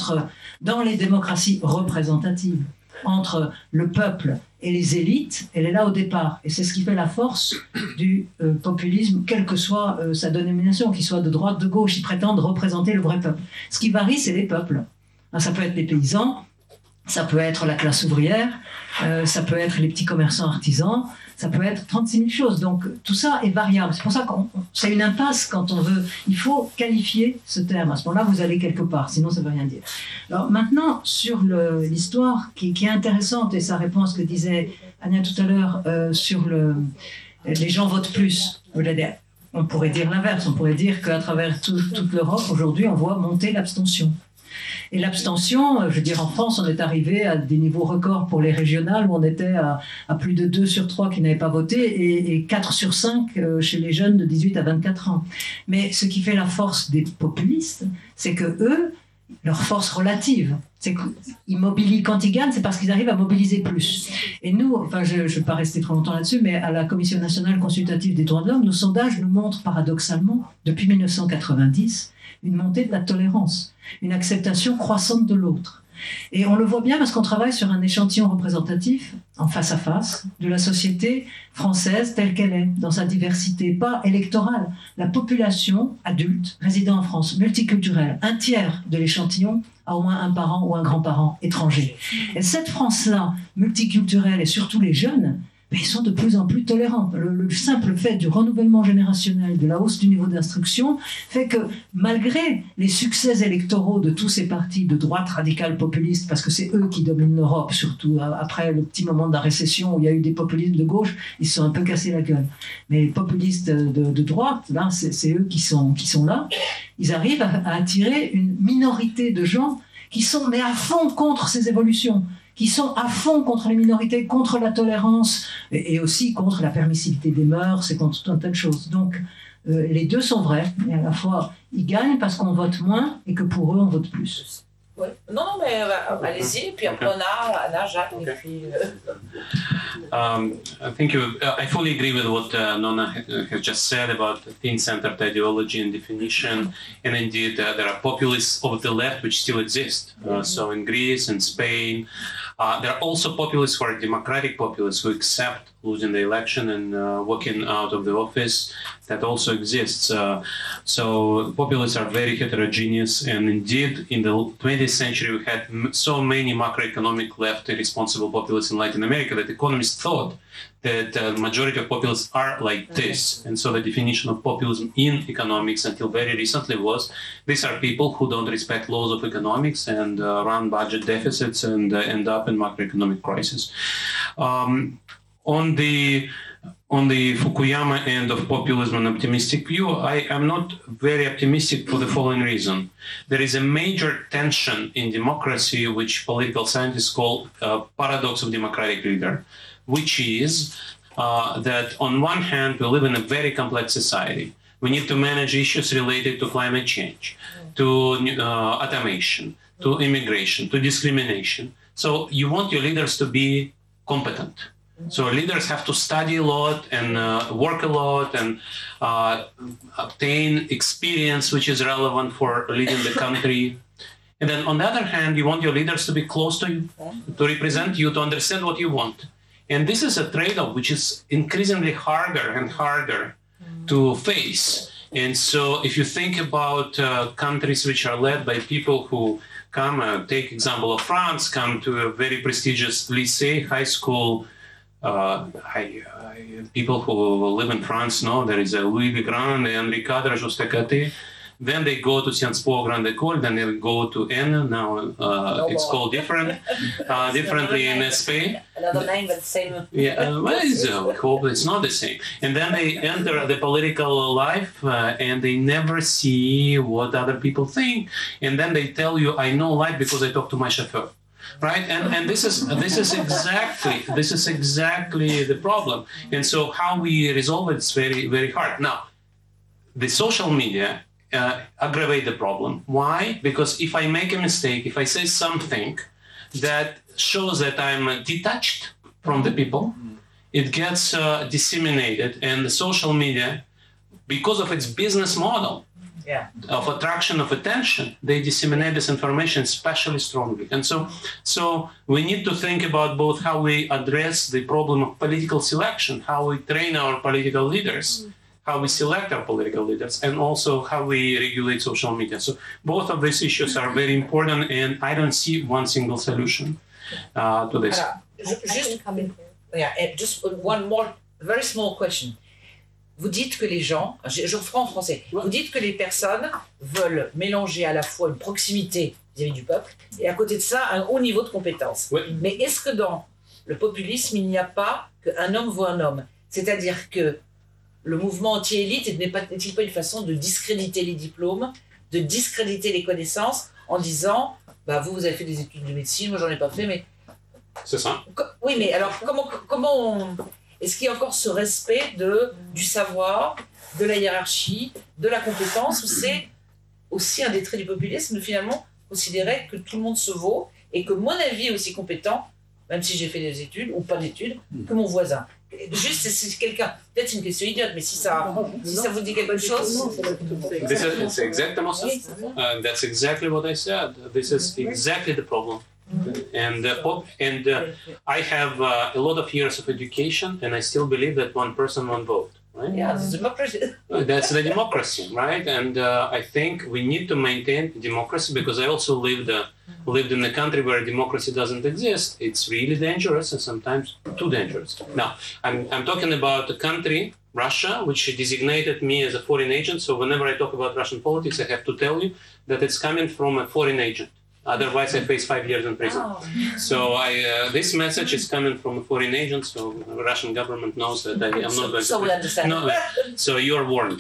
dans les démocraties représentatives, entre le peuple et les élites, elle est là au départ. Et c'est ce qui fait la force du populisme, quelle que soit sa dénomination, qu'il soit de droite, de gauche, ils prétendent représenter le vrai peuple. Ce qui varie, c'est les peuples. Ça peut être les paysans, ça peut être la classe ouvrière, ça peut être les petits commerçants artisans, ça peut être 36 000 choses. Donc tout ça est variable. C'est pour ça que c'est une impasse quand on veut. Il faut qualifier ce terme. À ce moment-là, vous allez quelque part, sinon ça ne veut rien dire. Alors maintenant, sur l'histoire qui est intéressante, et ça répond à ce que disait Anya tout à l'heure sur les gens votent plus. On pourrait dire l'inverse. On pourrait dire qu'à travers toute l'Europe, aujourd'hui, on voit monter l'abstention. Et l'abstention, je veux dire, en France, on est arrivé à des niveaux records pour les régionales où on était à plus de 2 sur 3 qui n'avaient pas voté et 4 sur 5 chez les jeunes de 18 à 24 ans. Mais ce qui fait la force des populistes, c'est que eux, leur force relative, c'est qu'ils mobilisent, quand ils gagnent, c'est parce qu'ils arrivent à mobiliser plus. Et nous, enfin, je ne vais pas rester trop longtemps là-dessus, mais à la Commission nationale consultative des droits de l'homme, nos sondages nous montrent paradoxalement, depuis 1990, une montée de la tolérance, une acceptation croissante de l'autre. Et on le voit bien parce qu'on travaille sur un échantillon représentatif, en face à face, de la société française telle qu'elle est, dans sa diversité, pas électorale. La population adulte résidant en France, multiculturelle, un tiers de l'échantillon a au moins un parent ou un grand-parent étranger. Et cette France-là, multiculturelle, et surtout les jeunes, ils sont de plus en plus tolérants. Le simple fait du renouvellement générationnel, de la hausse du niveau d'instruction, fait que malgré les succès électoraux de tous ces partis de droite radicale populiste, parce que c'est eux qui dominent l'Europe, surtout après le petit moment de la récession où il y a eu des populismes de gauche, ils se sont un peu cassés la gueule. Mais les populistes de droite, là, c'est eux qui sont là. Ils arrivent à attirer une minorité de gens qui sont mais à fond contre ces évolutions, qui sont à fond contre les minorités, contre la tolérance, et aussi contre la permissivité des mœurs, et contre tout un tas de choses. Donc, les deux sont vrais, et à la fois, ils gagnent parce qu'on vote moins, et que pour eux, on vote plus. Ouais. Non, mais allez-y, puis après on a Anna, Jacques, et puis... Thank you. I fully agree with what Nona has just said about the thin-centered ideology and definition. And indeed, there are populists of the left which still exist. So in Greece and Spain, There are also populists who are democratic populists who accept losing the election and walking out of the office. That also exists. So populists are very heterogeneous, and indeed, in the 20th century, we had so many macroeconomic left irresponsible populists in Latin America that economists thought that the majority of populists are like this. And so the definition of populism in economics until very recently was, these are people who don't respect laws of economics and run budget deficits and end up in macroeconomic crisis. On the Fukuyama end of populism and optimistic view, I am not very optimistic for the following reason. There is a major tension in democracy, which political scientists call paradox of democratic leader, which is that on one hand, we live in a very complex society. We need to manage issues related to climate change, to automation, to immigration, to discrimination. So you want your leaders to be competent. So leaders have to study a lot and work a lot and obtain experience which is relevant for leading the country. And then on the other hand, you want your leaders to be close to you, to represent you, to understand what you want. And this is a trade-off which is increasingly harder and harder to face. And so if you think about countries which are led by people who come, take example of France, come to a very prestigious lycée, high school. People who live in France know there is a Louis Le Grand and Henri IV Juste-à-Côté. Then they go to Sciences Po Grande École, then they go to N. Now it's called differently in SP. Another name, but the same. Yeah, well, we hope it's not the same. And then they enter the political life and they never see what other people think. And then they tell you, I know life because I talk to my chauffeur. Right, and this is exactly the problem. And so how we resolve it is very, very hard. Now, the social media aggravate the problem. Why? Because if I make a mistake, if I say something that shows that I'm detached from the people, it gets disseminated, and the social media, because of its business model, of attraction of attention, they disseminate this information especially strongly. And so we need to think about both how we address the problem of political selection, how we train our political leaders, how we select our political leaders, and also how we regulate social media. So both of these issues are very important, and I don't see one single solution to this. Just one more very small question. Vous dites que les gens, je reprends en français, vous dites que les personnes veulent mélanger à la fois une proximité vis-à-vis du peuple et à côté de ça un haut niveau de compétence. Oui. Mais est-ce que dans le populisme, il n'y a pas qu'un homme vaut un homme? C'est-à-dire que le mouvement anti-élite n'est-il pas une façon de discréditer les diplômes, de discréditer les connaissances en disant bah vous avez fait des études de médecine, moi j'en ai pas fait, mais... C'est ça. Oui, mais alors comment on... Est-ce qu'il y a encore ce respect du savoir, de la hiérarchie, de la compétence, ou c'est aussi un des traits du populisme de finalement considérer que tout le monde se vaut et que mon avis est aussi compétent, même si j'ai fait des études ou pas d'études, que mon voisin. Juste, si quelqu'un, peut-être c'est une question idiote, mais si ça vous dit quelque chose. It's exactement ça. That's exactly what I said. This is exactly the problem. And I have a lot of years of education, and I still believe that one person, one vote. Right? Yeah, that's democracy. That's the democracy, right? And I think we need to maintain democracy because I also lived in a country where democracy doesn't exist. It's really dangerous and sometimes too dangerous. Now, I'm talking about a country, Russia, which designated me as a foreign agent. So whenever I talk about Russian politics, I have to tell you that it's coming from a foreign agent. Otherwise, I face 5 years in prison. Oh. So this message is coming from a foreign agent, so the Russian government knows that I am not going to... So we understand. No, so you are warned.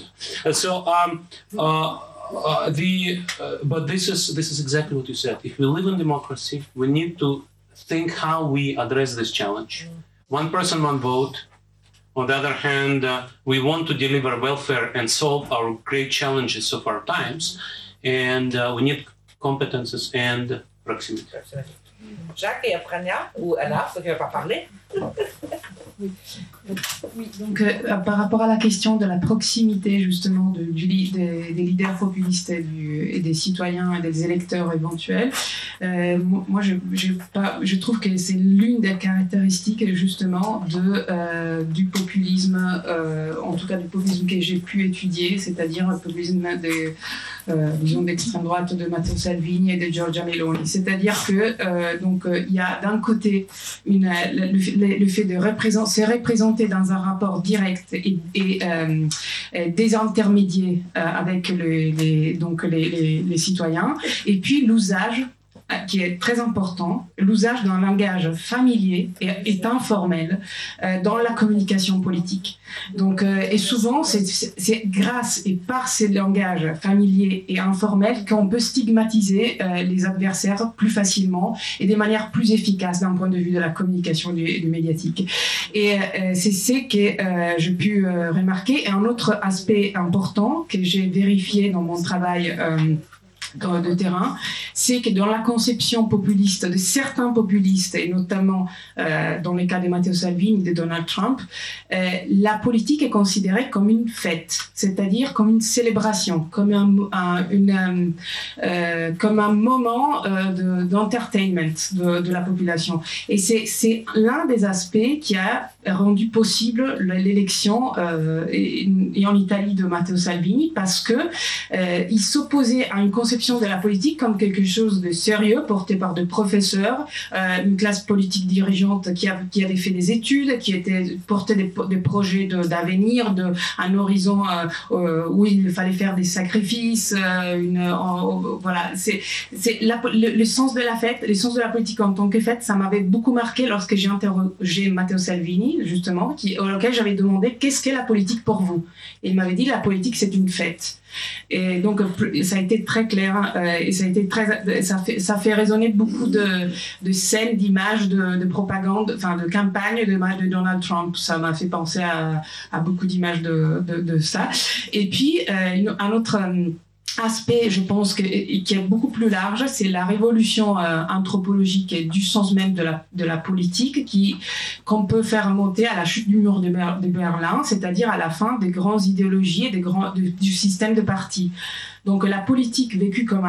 But this is exactly what you said. If we live in democracy, we need to think how we address this challenge. One person, one vote. On the other hand, we want to deliver welfare and solve our great challenges of our times, and we need competences and proximity. Jacques et après Anna, ou Anna, ceux qui ne veulent pas parler. Oui, donc par rapport à la question de la proximité justement des leaders populistes et des citoyens et des électeurs éventuels, moi je trouve que c'est l'une des caractéristiques justement du populisme, en tout cas du populisme que j'ai pu étudier, c'est-à-dire le populisme disons d'extrême droite de Matteo Salvini et de Giorgia Meloni. C'est-à-dire que il y a d'un côté le fait de se représenter dans un rapport direct et désintermédié avec les citoyens, et puis l'usage qui est très important, l'usage d'un langage familier et informel dans la communication politique. Donc, et souvent, c'est grâce et par ces langages familiers et informels qu'on peut stigmatiser les adversaires plus facilement et de manière plus efficace d'un point de vue de la communication et du médiatique. Et c'est ce que j'ai pu remarquer. Et un autre aspect important que j'ai vérifié dans mon travail de terrain, c'est que dans la conception populiste de certains populistes, et notamment dans les cas de Matteo Salvini et de Donald Trump, la politique est considérée comme une fête, c'est-à-dire comme une célébration, comme un moment d'entertainment de la population. Et c'est l'un des aspects qui a rendu possible l'élection et en Italie de Matteo Salvini, parce que il s'opposait à une conception de la politique comme quelque chose de sérieux porté par des professeurs, une classe politique dirigeante qui avait fait des études, qui portait des projets d'avenir, un horizon où il fallait faire des sacrifices, voilà, c'est le sens de la fête, le sens de la politique en tant que fête. Ça m'avait beaucoup marqué lorsque j'ai interrogé Matteo Salvini, justement, auquel j'avais demandé qu'est-ce qu'est la politique pour vous, et il m'avait dit la politique c'est une fête. Et donc ça a été très clair, et ça fait résonner beaucoup de scènes, d'images, de propagande, enfin de campagnes, d'images de Donald Trump. Ça m'a fait penser à beaucoup d'images de ça. Et puis un autre aspect, je pense, qui est beaucoup plus large, c'est la révolution anthropologique et du sens même de la politique qu'on peut faire monter à la chute du mur de Berlin, c'est-à-dire à la fin des grandes idéologies et du système de partis. Donc la politique vécue comme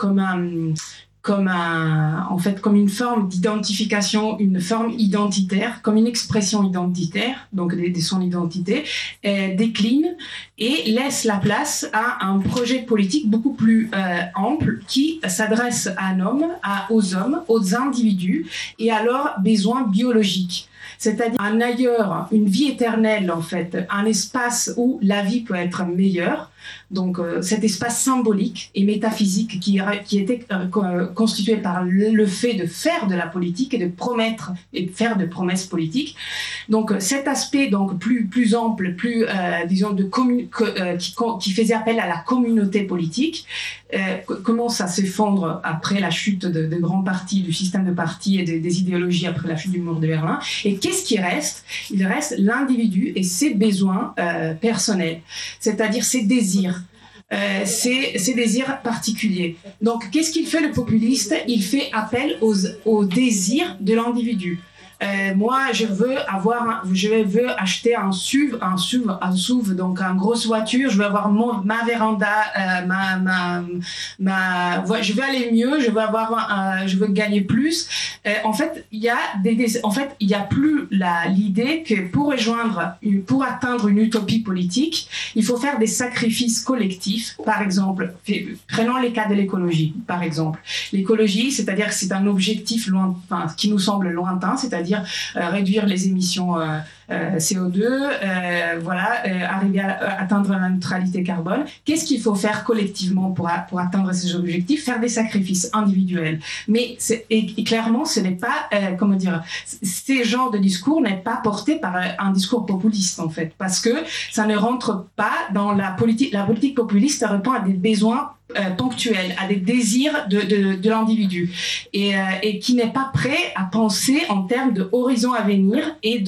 une forme d'identification, une forme identitaire, comme une expression identitaire, donc de son identité, décline et laisse la place à un projet politique beaucoup plus ample qui s'adresse à aux hommes, aux individus et à leurs besoins biologiques. C'est-à-dire un ailleurs, une vie éternelle en fait, un espace où la vie peut être meilleure. Donc cet espace symbolique et métaphysique qui était constitué par le fait de faire de la politique et de promettre et de faire de promesses politiques. Donc cet aspect donc plus ample, plus disons qui faisait appel à la communauté politique commence à s'effondrer après la chute de grands partis, du système de partis et des idéologies après la chute du mur de Berlin. Et qu'est-ce qui reste? Il reste l'individu et ses besoins personnels, c'est-à-dire ses désirs. Ces désirs particuliers. Donc, qu'est-ce qu'il fait le populiste? Il fait appel aux désirs de l'individu. Moi, je veux acheter un SUV, donc une grosse voiture. Je veux avoir ma véranda, je veux aller mieux. Je veux gagner plus. En fait, il y a plus l'idée que pour atteindre une utopie politique, il faut faire des sacrifices collectifs. Par exemple, prenons les cas de l'écologie. Par exemple, l'écologie, c'est-à-dire que c'est un objectif qui nous semble lointain, c'est-à-dire réduire les émissions CO2, arriver à atteindre la neutralité carbone. Qu'est-ce qu'il faut faire collectivement pour atteindre ces objectifs? Faire des sacrifices individuels. Mais clairement, ce n'est pas, ces genres de discours n'est pas porté par un discours populiste en fait, parce que ça ne rentre pas dans la politique. La politique populiste répond à des besoins ponctuels, à des désirs de l'individu et qui n'est pas prêt à penser en termes d'horizon à venir et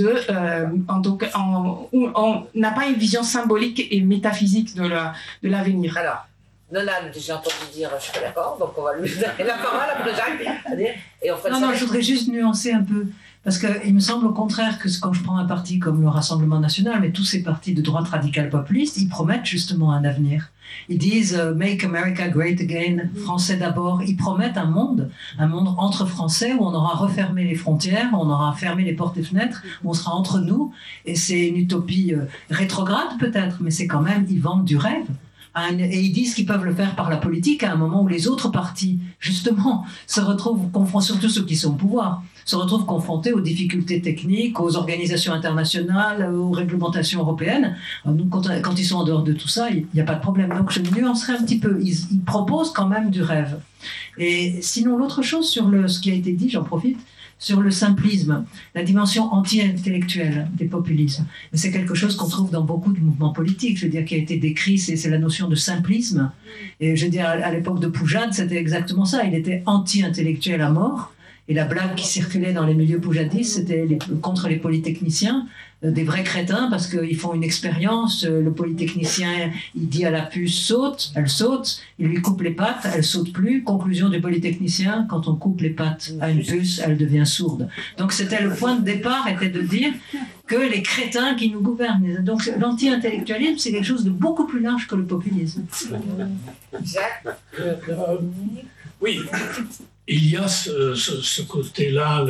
on n'a pas une vision symbolique et métaphysique de l'avenir. Alors, Nolan, j'ai entendu dire je suis pas d'accord, donc on va lui donner la parole après Jacques. Et on fait non, je voudrais juste nuancer un peu. Parce qu'il me semble au contraire que quand je prends un parti comme le Rassemblement national, mais tous ces partis de droite radicale populiste, ils promettent justement un avenir. Ils disent « Make America Great Again », français d'abord. Ils promettent un monde entre français où on aura refermé les frontières, on aura fermé les portes et fenêtres, où on sera entre nous. Et c'est une utopie rétrograde peut-être, mais c'est quand même, ils vendent du rêve. Et ils disent qu'ils peuvent le faire par la politique à un moment où les autres partis, justement, se retrouvent confrontés, surtout ceux qui sont au pouvoir, se retrouvent confrontés aux difficultés techniques, aux organisations internationales, aux réglementations européennes. Donc, quand ils sont en dehors de tout ça, il n'y a pas de problème. Donc, je nuancerai un petit peu. Ils proposent quand même du rêve. Et sinon, l'autre chose sur ce qui a été dit, j'en profite, sur le simplisme, la dimension anti-intellectuelle des populismes. Mais c'est quelque chose qu'on trouve dans beaucoup de mouvements politiques, je veux dire, qui a été décrit, c'est la notion de simplisme. Et je veux dire, à l'époque de Poujade, c'était exactement ça. Il était anti-intellectuel à mort. Et la blague qui circulait dans les milieux poujadistes, c'était contre les polytechniciens, des vrais crétins, parce qu'ils font une expérience. Le polytechnicien, il dit à la puce « saute », elle saute, il lui coupe les pattes, elle saute plus. Conclusion du polytechnicien, quand on coupe les pattes à une puce, elle devient sourde. Donc c'était le point de départ, était de dire que les crétins qui nous gouvernent. Donc l'anti-intellectualisme, c'est quelque chose de beaucoup plus large que le populisme. Jacques, oui. Il y a ce côté-là,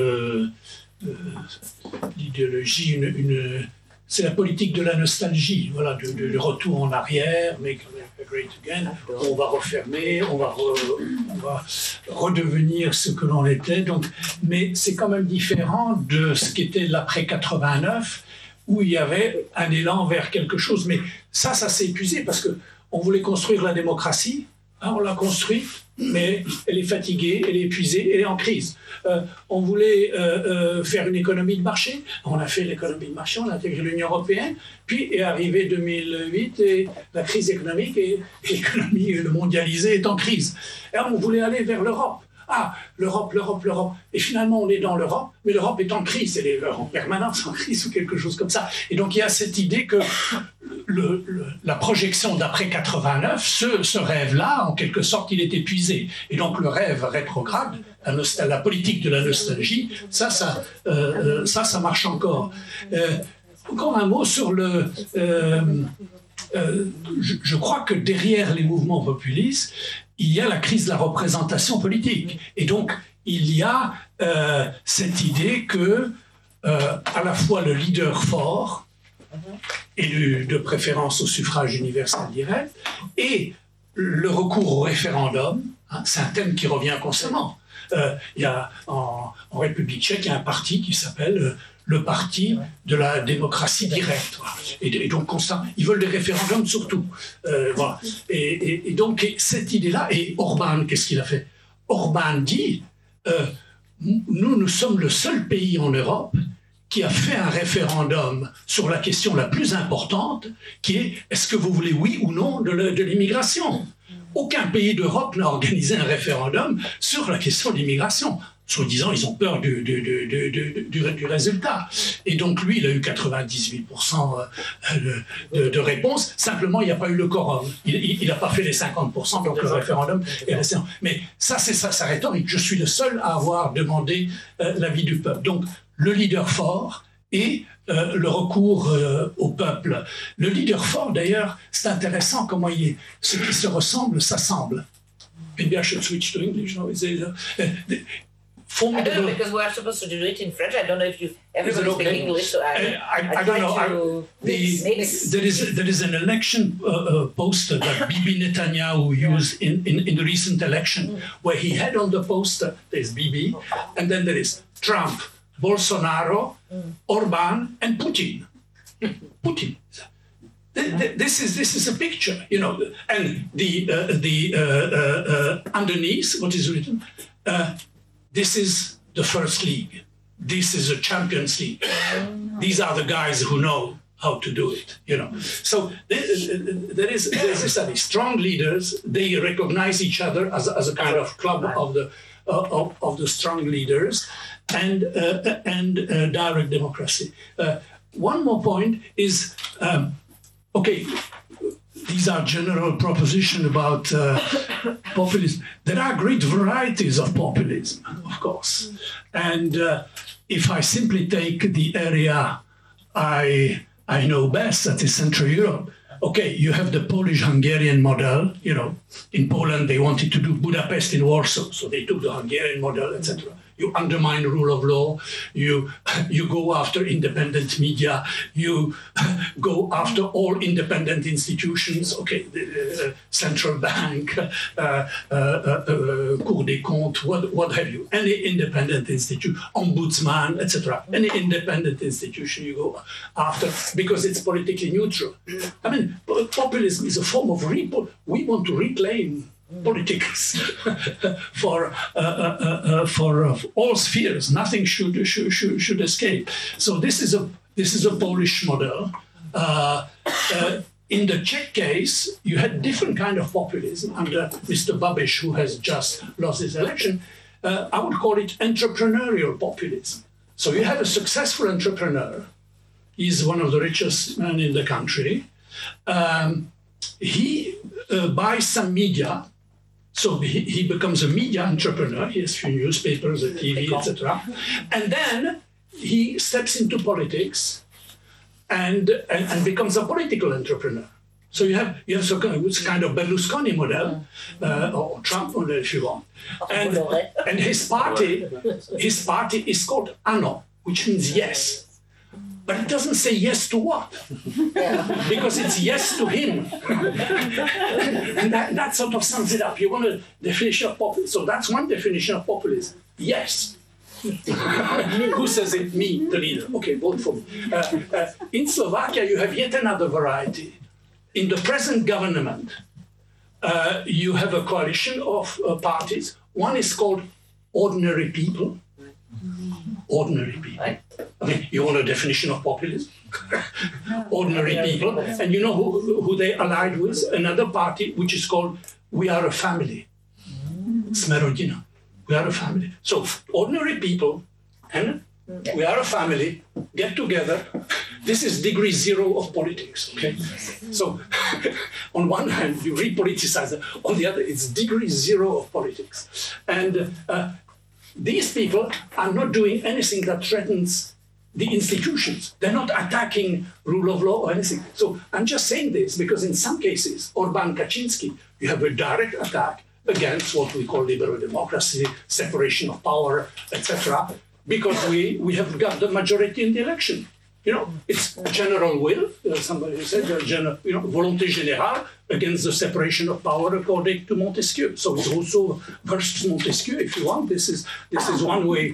l'idéologie, c'est la politique de la nostalgie, voilà, de retour en arrière, Make America Great Again, on va refermer, on va redevenir ce que l'on était, donc, mais c'est quand même différent de ce qu'était l'après 89, où il y avait un élan vers quelque chose, mais ça s'est épuisé parce qu'on voulait construire la démocratie, on l'a construite, mais elle est fatiguée, elle est épuisée, elle est en crise. On voulait faire une économie de marché, on a fait l'économie de marché, on a intégré l'Union européenne, puis est arrivé 2008 et la crise économique et l'économie mondialisée est en crise. Et on voulait aller vers l'Europe. Ah, l'Europe. Et finalement, on est dans l'Europe, mais l'Europe est en crise, elle est en permanence en crise ou quelque chose comme ça. Et donc, il y a cette idée que la projection d'après 89, ce rêve-là, en quelque sorte, il est épuisé. Et donc, le rêve rétrograde, la politique de la nostalgie, ça marche encore. Encore un mot sur je crois que derrière les mouvements populistes, il y a la crise de la représentation politique. Et donc, il y a cette idée que, à la fois le leader fort, élu de préférence au suffrage universel direct, et le recours au référendum, c'est un thème qui revient constamment. Il y a en République tchèque, il y a un parti qui s'appelle le parti de la démocratie directe. Voilà. Et donc, constant, ils veulent des référendums surtout. Voilà. Et donc, cette idée-là, et Orbán, qu'est-ce qu'il a fait? Orbán dit, nous sommes le seul pays en Europe qui a fait un référendum sur la question la plus importante, qui est, est-ce que vous voulez oui ou non de l'immigration? Aucun pays d'Europe n'a organisé un référendum sur la question de l'immigration. Soi-disant, ils ont peur du résultat. Et donc, lui, il a eu 98% de réponses. Simplement, il n'y a pas eu le quorum. Il n'a pas fait les 50%, donc le référendum est resté. Mais ça, c'est sa rhétorique. Je suis le seul à avoir demandé l'avis du peuple. Donc, le leader fort et le recours au peuple. Le leader fort, d'ailleurs, c'est intéressant comment il est. Ce qui se ressemble, s'assemble. Maybe I should switch to English. No? I don't know, because we are supposed to do it in French. I don't know if everybody speaks English, so I don't know. There is an election poster that Bibi Netanyahu used in the recent election, where he had on the poster, there's Bibi, and then there is Trump, Bolsonaro, Orban, and Putin. Putin. This is a picture, you know, and the underneath what is written. This is the first league. This is a Champions League. These are the guys who know how to do it, you know. So there's this strong leaders. They recognize each other as a kind of club of the strong leaders, and direct democracy. One more point is okay. These are general propositions about populism. There are great varieties of populism, of course. And if I simply take the area I know best, that is Central Europe, okay, you have the Polish-Hungarian model. You know, in Poland they wanted to do Budapest in Warsaw, so they took the Hungarian model, etc. You undermine rule of law. You go after independent media. You go after all independent institutions. Okay, the central bank, Cour des Comptes, what have you? Any independent institution, ombudsman, etc. Any independent institution you go after because it's politically neutral. I mean, populism is a form of we want to reclaim politics for all spheres. Nothing should escape. So this is a Polish model. In the Czech case, you had different kind of populism under Mr. Babiš, who has just lost his election. I would call it entrepreneurial populism. So you have a successful entrepreneur. He's one of the richest men in the country. He buys some media. So he becomes a media entrepreneur. He has few newspapers, a TV, etc. And then he steps into politics and becomes a political entrepreneur. So you have some kind of Berlusconi model or Trump model, if you want. And his party is called ANO, which means yes. But it doesn't say yes to what? Because it's yes to him. And that sort of sums it up. You want a definition of populism. So that's one definition of populism. Yes. Who says it? Me, the leader. Okay, vote for me. In Slovakia, you have yet another variety. In the present government, you have a coalition of parties. One is called Ordinary People. Ordinary people. I mean, you want a definition of populism? Ordinary people. And you know who they allied with? Another party which is called We Are a Family. Smerodina. We are a family. So ordinary people and we are a family get together. This is degree zero of politics. Okay. So on one hand you repoliticize it. On the other, it's degree zero of politics. And these people are not doing anything that threatens the institutions. They're not attacking rule of law or anything. So I'm just saying this because in some cases, Orbán Kaczynski, you have a direct attack against what we call liberal democracy, separation of power, etc. Because we have got the majority in the election. You know, it's general will. Somebody said, volonté générale against the separation of power according to Montesquieu. So it's also versus Montesquieu, if you want. This is one way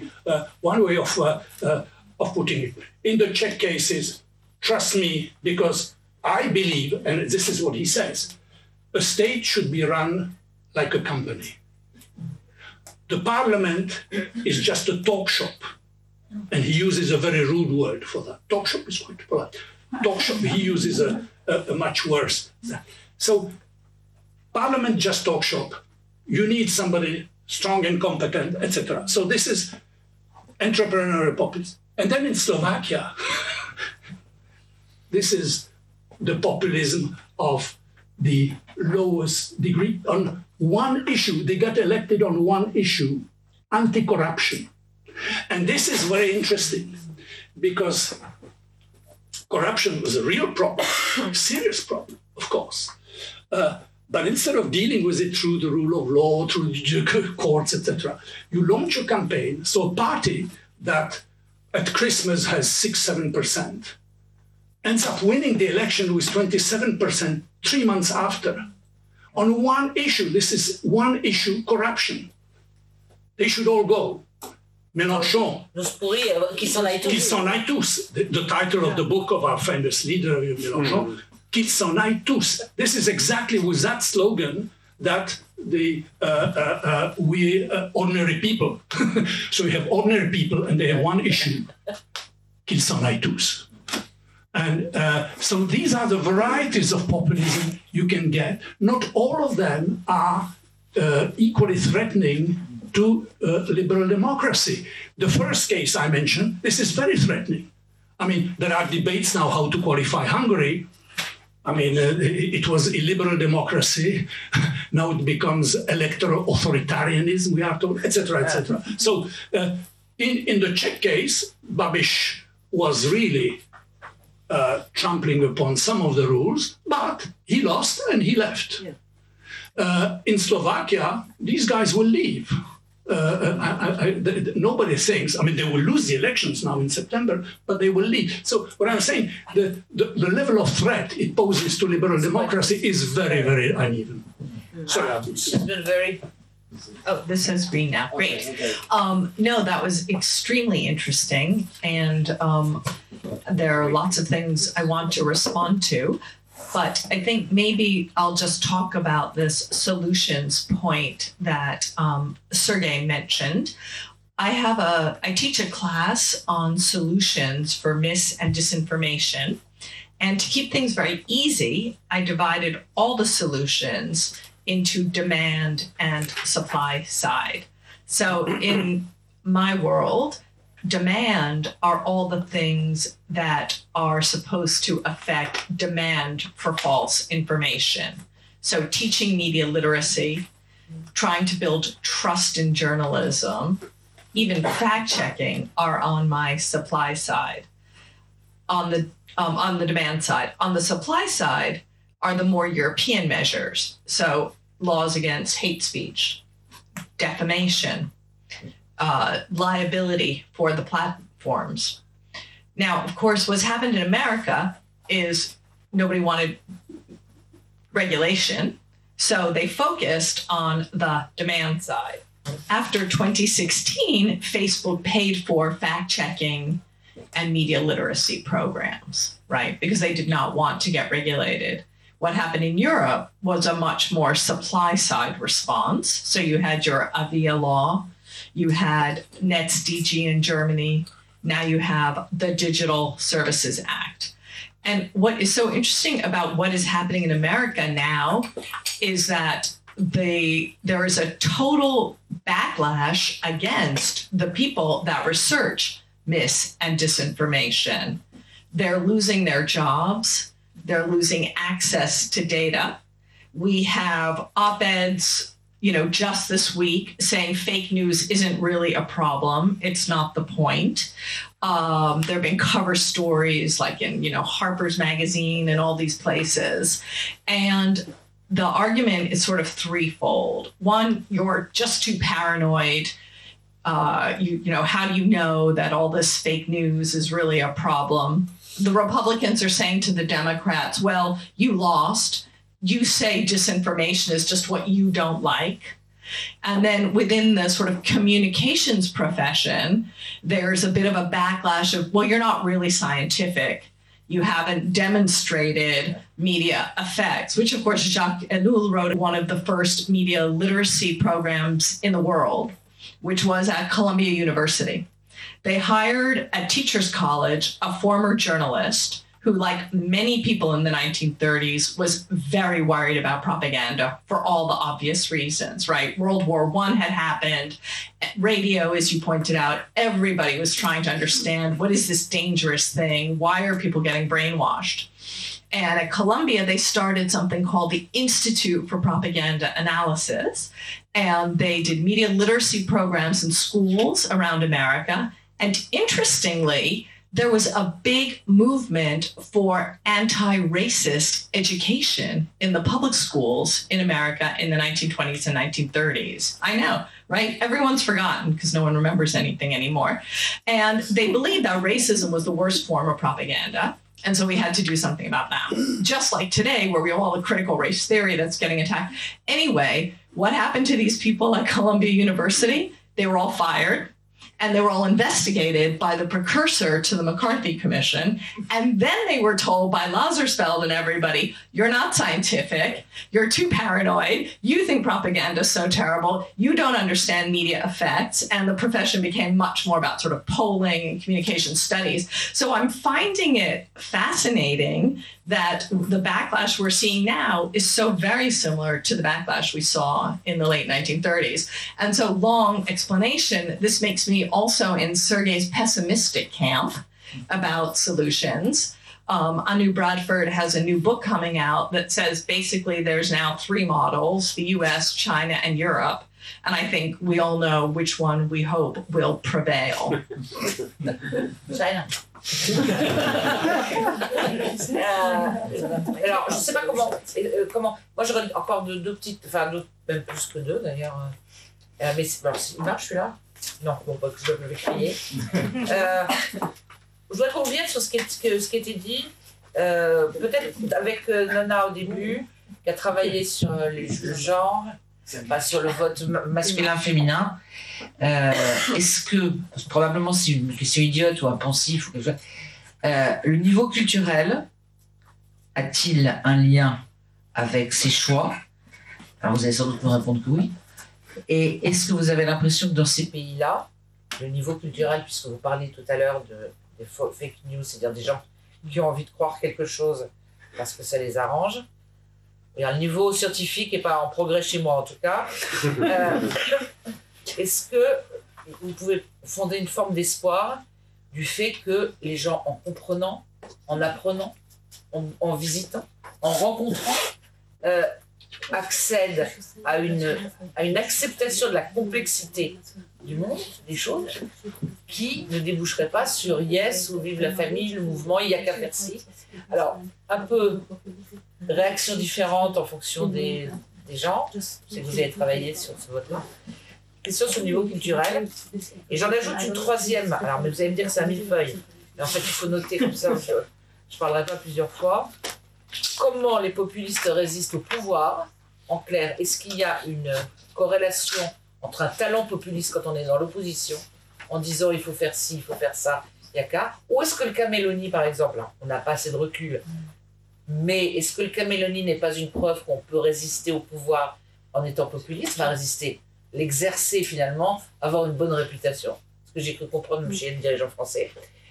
of putting it. In the Czech cases, trust me, because I believe, and this is what he says, a state should be run like a company. The parliament is just a talk shop. And he uses a very rude word for that. Talk shop is quite polite. Talk shop, he uses a much worse. So, parliament just talk shop. You need somebody strong and competent, etc. So this is entrepreneurial populism. And then in Slovakia, this is the populism of the lowest degree. On one issue, they got elected on one issue, anti-corruption. And this is very interesting because corruption was a real problem, serious problem, of course. But instead of dealing with it through the rule of law, through the courts, etc., you launch a campaign. So a party that at Christmas has 6-7% ends up winning the election with 27% 3 months after. On one issue, this is one issue, corruption. They should all go. Mélenchon. Qu'ils s'en aillent tous. The title of the book of our famous leader, Mélenchon, Qu'ils s'en aillent tous. This is exactly with that slogan that we ordinary people. So we have ordinary people and they have one issue. Qu'ils s'en aillent tous. And so these are the varieties of populism you can get. Not all of them are equally threatening to liberal democracy. The first case I mentioned, this is very threatening. I mean, there are debates now how to qualify Hungary. I mean, it was illiberal democracy. Now it becomes electoral authoritarianism, we are told, etc., etc. So in the Czech case, Babiš was really trampling upon some of the rules, but he lost and he left. Yeah. In Slovakia, these guys will leave. Nobody thinks, I mean, they will lose the elections now in September, but they will leave. So what I'm saying, the level of threat it poses to liberal democracy is very, very uneven. Sorry, it's been very... Oh, this says green now. Great. No, that was extremely interesting. And there are lots of things I want to respond to. But I think maybe I'll just talk about this solutions point that Sergey mentioned. I teach a class on solutions for mis and disinformation. And to keep things very easy, I divided all the solutions into demand and supply side. So in my world, demand are all the things that are supposed to affect demand for false information. So teaching media literacy, trying to build trust in journalism, even fact-checking are on my supply side. On the demand side. On the supply side are the more European measures. So laws against hate speech, defamation, liability for the platforms. Now, of course, what's happened in America is nobody wanted regulation, so they focused on the demand side. After 2016, Facebook paid for fact-checking and media literacy programs, right? Because they did not want to get regulated. What happened in Europe was a much more supply-side response. So you had your Avia law, you had NetzDG in Germany, now you have the Digital Services Act. And what is so interesting about what is happening in America now is that there is a total backlash against the people that research mis and disinformation. They're losing their jobs. They're losing access to data. We have op-eds, just this week saying fake news isn't really a problem. It's not the point. There have been cover stories like in, Harper's Magazine and all these places. And the argument is sort of threefold. One, you're just too paranoid. How do you know that all this fake news is really a problem? The Republicans are saying to the Democrats, well, you lost. You say disinformation is just what you don't like. And then within the sort of communications profession, there's a bit of a backlash of, well, you're not really scientific. You haven't demonstrated media effects, which of course Jacques Ellul wrote one of the first media literacy programs in the world, which was at Columbia University. They hired at Teachers College a former journalist who, like many people in the 1930s, was very worried about propaganda for all the obvious reasons, right? World War I had happened. Radio, as you pointed out, everybody was trying to understand, what is this dangerous thing? Why are people getting brainwashed? And at Columbia, they started something called the Institute for Propaganda Analysis. And they did media literacy programs in schools around America. And interestingly, there was a big movement for anti-racist education in the public schools in America in the 1920s and 1930s. I know, right? Everyone's forgotten because no one remembers anything anymore. And they believed that racism was the worst form of propaganda. And so we had to do something about that. Just like today, where we have all the critical race theory that's getting attacked. Anyway, what happened to these people at Columbia University? They were all fired. And they were all investigated by the precursor to the McCarthy Commission. And then they were told by Lazarsfeld and everybody, you're not scientific, you're too paranoid, you think propaganda is so terrible, you don't understand media effects. And the profession became much more about sort of polling and communication studies. So I'm finding it fascinating that the backlash we're seeing now is so very similar to the backlash we saw in the late 1930s. And so, long explanation, this makes me also in Sergey's pessimistic camp about solutions. Anu Bradford has a new book coming out that says basically there's now three models, the US, China, and Europe. And I think we all know which one we hope will prevail. China. Alors, je ne sais pas comment. Moi, j'aurais encore deux petites, enfin, même plus que deux d'ailleurs. Mais alors, il marche celui-là? Non, bon, pas que je vais crier. Je voudrais qu'on revienne sur ce qui a été dit, peut-être avec Nana au début, qui a travaillé sur le genre, pas sur le vote masculin-féminin. Est-ce que, probablement c'est une question idiote ou un pensif ou quelque chose, le niveau culturel a-t-il un lien avec ses choix? Alors vous allez sans doute me répondre que oui. Et est-ce que vous avez l'impression que dans ces pays-là, le niveau culturel, puisque vous parliez tout à l'heure des fake news, c'est-à-dire des gens qui ont envie de croire quelque chose parce que ça les arrange, et un niveau scientifique n'est pas en progrès chez moi en tout cas, est-ce que vous pouvez fonder une forme d'espoir du fait que les gens, en comprenant, en apprenant, en visitant, en rencontrant, accèdent à une acceptation de la complexité du monde, des choses, qui ne déboucherait pas sur yes ou vive la famille, le mouvement, il n'y a qu'à faire ci. Alors, un peu réaction différente en fonction des gens. Je sais que vous avez travaillé sur ce vote-là. Question sur le niveau culturel. Et j'en ajoute une troisième. Alors, mais vous allez me dire que c'est un millefeuille. Mais en fait, il faut noter comme ça, je ne parlerai pas plusieurs fois. Comment les populistes résistent au pouvoir? En clair, est-ce qu'il y a une corrélation entre un talent populiste quand on est dans l'opposition, en disant il faut faire ci, il faut faire ça, il y a qu'à, ou est-ce que le cas Mélanie, par exemple, hein, on n'a pas assez de recul, mais est-ce que le cas Mélanie n'est pas une preuve qu'on peut résister au pouvoir en étant populiste, enfin résister, l'exercer finalement, avoir une bonne réputation, ce que j'ai cru comprendre chez les dirigeants français.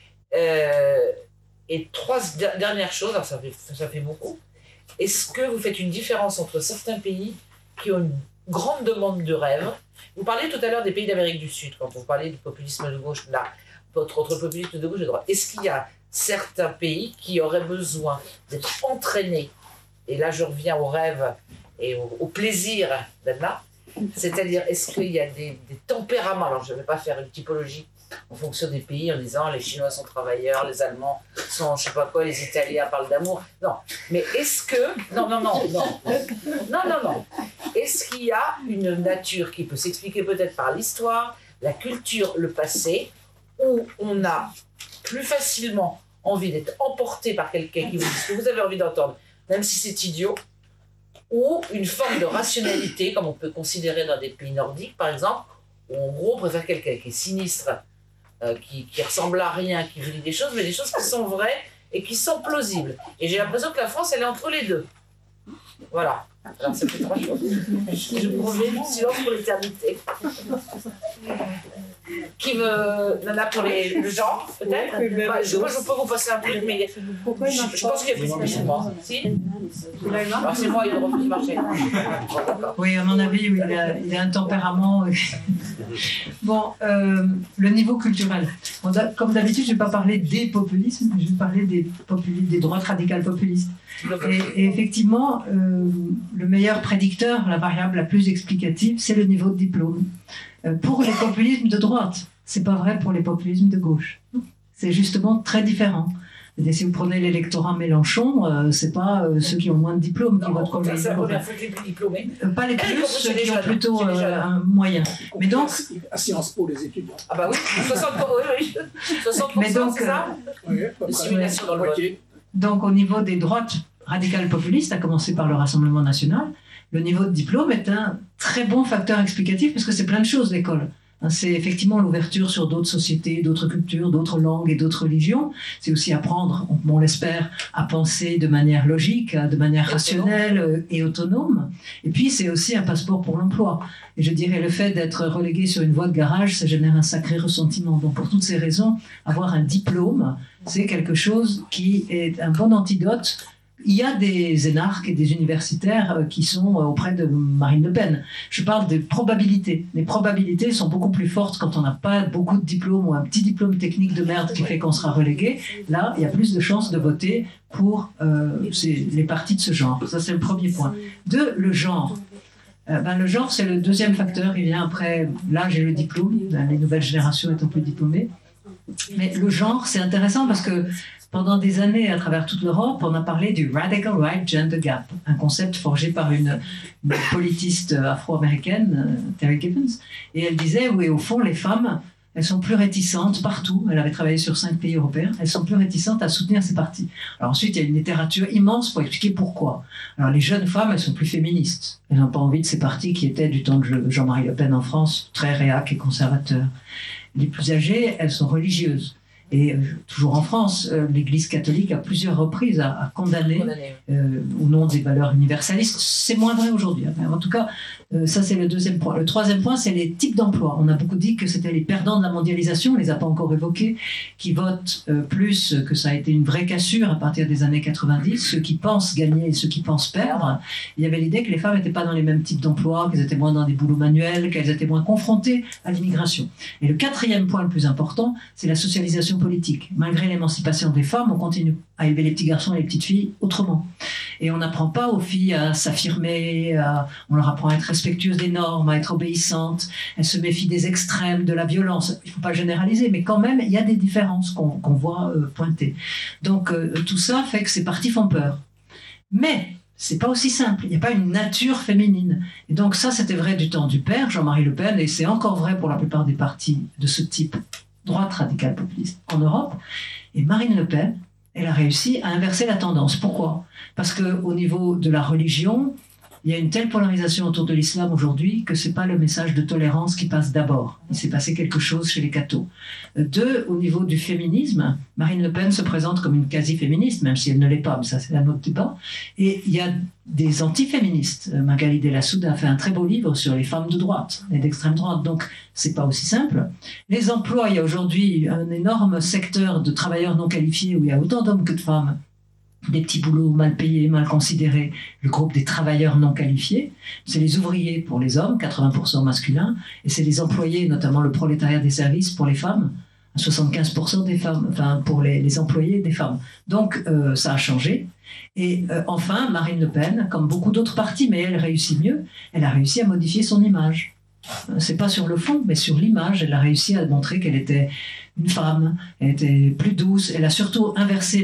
Et trois dernières choses, alors ça fait beaucoup. Est-ce que vous faites une différence entre certains pays qui ont une grande demande de rêve? Vous parlez tout à l'heure des pays d'Amérique du Sud, quand vous parlez du populisme de gauche, là, votre populisme de gauche et de droite. Est-ce qu'il y a certains pays qui auraient besoin d'être entraînés? Et là, je reviens au rêve et au plaisir d'Anna. C'est-à-dire, est-ce qu'il y a des tempéraments? Alors, je ne vais pas faire une typologie en fonction des pays en disant les Chinois sont travailleurs, les Allemands sont je sais pas quoi, les Italiens parlent d'amour. Non, mais est-ce que... Non. Est-ce qu'il y a une nature qui peut s'expliquer peut-être par l'histoire, la culture, le passé, où on a plus facilement envie d'être emporté par quelqu'un qui vous dit ce que vous avez envie d'entendre, même si c'est idiot, ou une forme de rationalité, comme on peut considérer dans des pays nordiques, par exemple, où en gros on préfère quelqu'un qui est sinistre, qui ressemble à rien, qui vous dit des choses, mais des choses qui sont vraies et qui sont plausibles. Et j'ai l'impression que la France, elle est entre les deux. Voilà. Alors, ça fait trois choses. Je promets le silence pour l'éternité. Qui me... Nana pour le genre, peut-être. Moi, je peux vous passer un truc, mais Pourquoi il je pense qu'il y a plus de moi. Si alors, c'est moi, il y a le refus marché. Oui, à mon avis, oui, il a un tempérament. Bon, le niveau culturel. Bon, comme d'habitude, je ne vais pas parler des populismes, je vais parler des droites radicales populistes. Et effectivement, le meilleur prédicteur, la variable la plus explicative, c'est le niveau de diplôme. Pour les populismes de droite, c'est pas vrai pour les populismes de gauche. C'est justement très différent. Et si vous prenez l'électorat Mélenchon, c'est pas ceux qui ont moins de diplômes qui votent comme les diplômés. Pas les plus, ceux qui ont plutôt un moyen. Mais donc, à Sciences Po, les étudiants. Ah bah oui, 60%, mais donc, c'est ça de simulation dans le vote. Donc au niveau des droites radicales populistes, à commencer par le Rassemblement national, le niveau de diplôme est un très bon facteur explicatif parce que c'est plein de choses l'école. C'est effectivement l'ouverture sur d'autres sociétés, d'autres cultures, d'autres langues et d'autres religions. C'est aussi apprendre, on l'espère, à penser de manière logique, de manière rationnelle et autonome. Et puis c'est aussi un passeport pour l'emploi. Et je dirais le fait d'être relégué sur une voie de garage, ça génère un sacré ressentiment. Donc pour toutes ces raisons, avoir un diplôme, c'est quelque chose qui est un bon antidote. Il y a des énarques et des universitaires qui sont auprès de Marine Le Pen. Je parle des probabilités. Les probabilités sont beaucoup plus fortes quand on n'a pas beaucoup de diplômes ou un petit diplôme technique de merde qui fait qu'on sera relégué. Là, il y a plus de chances de voter pour les partis de ce genre. Ça, c'est le premier point. Deux, le genre. Le genre, c'est le deuxième facteur. Il vient après l'âge et le diplôme, les nouvelles générations étant plus diplômées. Mais le genre, c'est intéressant parce que pendant des années, à travers toute l'Europe, on a parlé du Radical Right Gender Gap, un concept forgé par une politiste afro-américaine, Terry Gibbons. Et elle disait, oui, au fond, les femmes, elles sont plus réticentes partout. Elle avait travaillé sur 5 pays européens. Elles sont plus réticentes à soutenir ces partis. Alors ensuite, il y a une littérature immense pour expliquer pourquoi. Alors les jeunes femmes, elles sont plus féministes. Elles n'ont pas envie de ces partis qui étaient du temps de Jean-Marie Le Pen en France, très réac et conservateurs. Les plus âgées, elles sont religieuses. Et toujours en France, l'Église catholique à plusieurs reprises a condamné au nom des valeurs universalistes. C'est moins vrai aujourd'hui. En tout cas, ça c'est le deuxième point. Le troisième point, c'est les types d'emplois. On a beaucoup dit que c'était les perdants de la mondialisation, on ne les a pas encore évoqués, qui votent plus, que ça a été une vraie cassure à partir des années 90, ceux qui pensent gagner et ceux qui pensent perdre. Il y avait l'idée que les femmes n'étaient pas dans les mêmes types d'emplois, qu'elles étaient moins dans des boulots manuels, qu'elles étaient moins confrontées à l'immigration. Et le quatrième point le plus important, c'est la socialisation politique. Malgré l'émancipation des femmes, on continue à élever les petits garçons et les petites filles autrement. Et on n'apprend pas aux filles à s'affirmer, on leur apprend à être respectueuses des normes, à être obéissantes. Elles se méfient des extrêmes, de la violence. Il ne faut pas généraliser, mais quand même, il y a des différences qu'on voit pointer. Donc tout ça fait que ces partis font peur. Mais c'est pas aussi simple. Il n'y a pas une nature féminine. Et donc ça, c'était vrai du temps du père, Jean-Marie Le Pen, et c'est encore vrai pour la plupart des partis de ce type, droite radicale populiste, en Europe. Et Marine Le Pen, elle a réussi à inverser la tendance. Pourquoi ? Parce qu'au niveau de la religion, il y a une telle polarisation autour de l'islam aujourd'hui que ce n'est pas le message de tolérance qui passe d'abord. Il s'est passé quelque chose chez les cathos. 2, au niveau du féminisme, Marine Le Pen se présente comme une quasi-féministe, même si elle ne l'est pas, mais ça c'est un autre débat. Et il y a des anti-féministes. Magali Delasouda a fait un très beau livre sur les femmes de droite et d'extrême droite, donc c'est pas aussi simple. Les emplois, il y a aujourd'hui un énorme secteur de travailleurs non qualifiés où il y a autant d'hommes que de femmes. Des petits boulots mal payés, mal considérés, le groupe des travailleurs non qualifiés, c'est les ouvriers pour les hommes, 80% masculins, et c'est les employés, notamment le prolétariat des services pour les femmes, 75% des femmes, enfin pour les employés des femmes. Donc ça a changé. Et enfin, Marine Le Pen, comme beaucoup d'autres partis, mais elle réussit mieux, elle a réussi à modifier son image. C'est pas sur le fond, mais sur l'image, elle a réussi à montrer qu'elle était une femme, elle était plus douce, elle a surtout inversé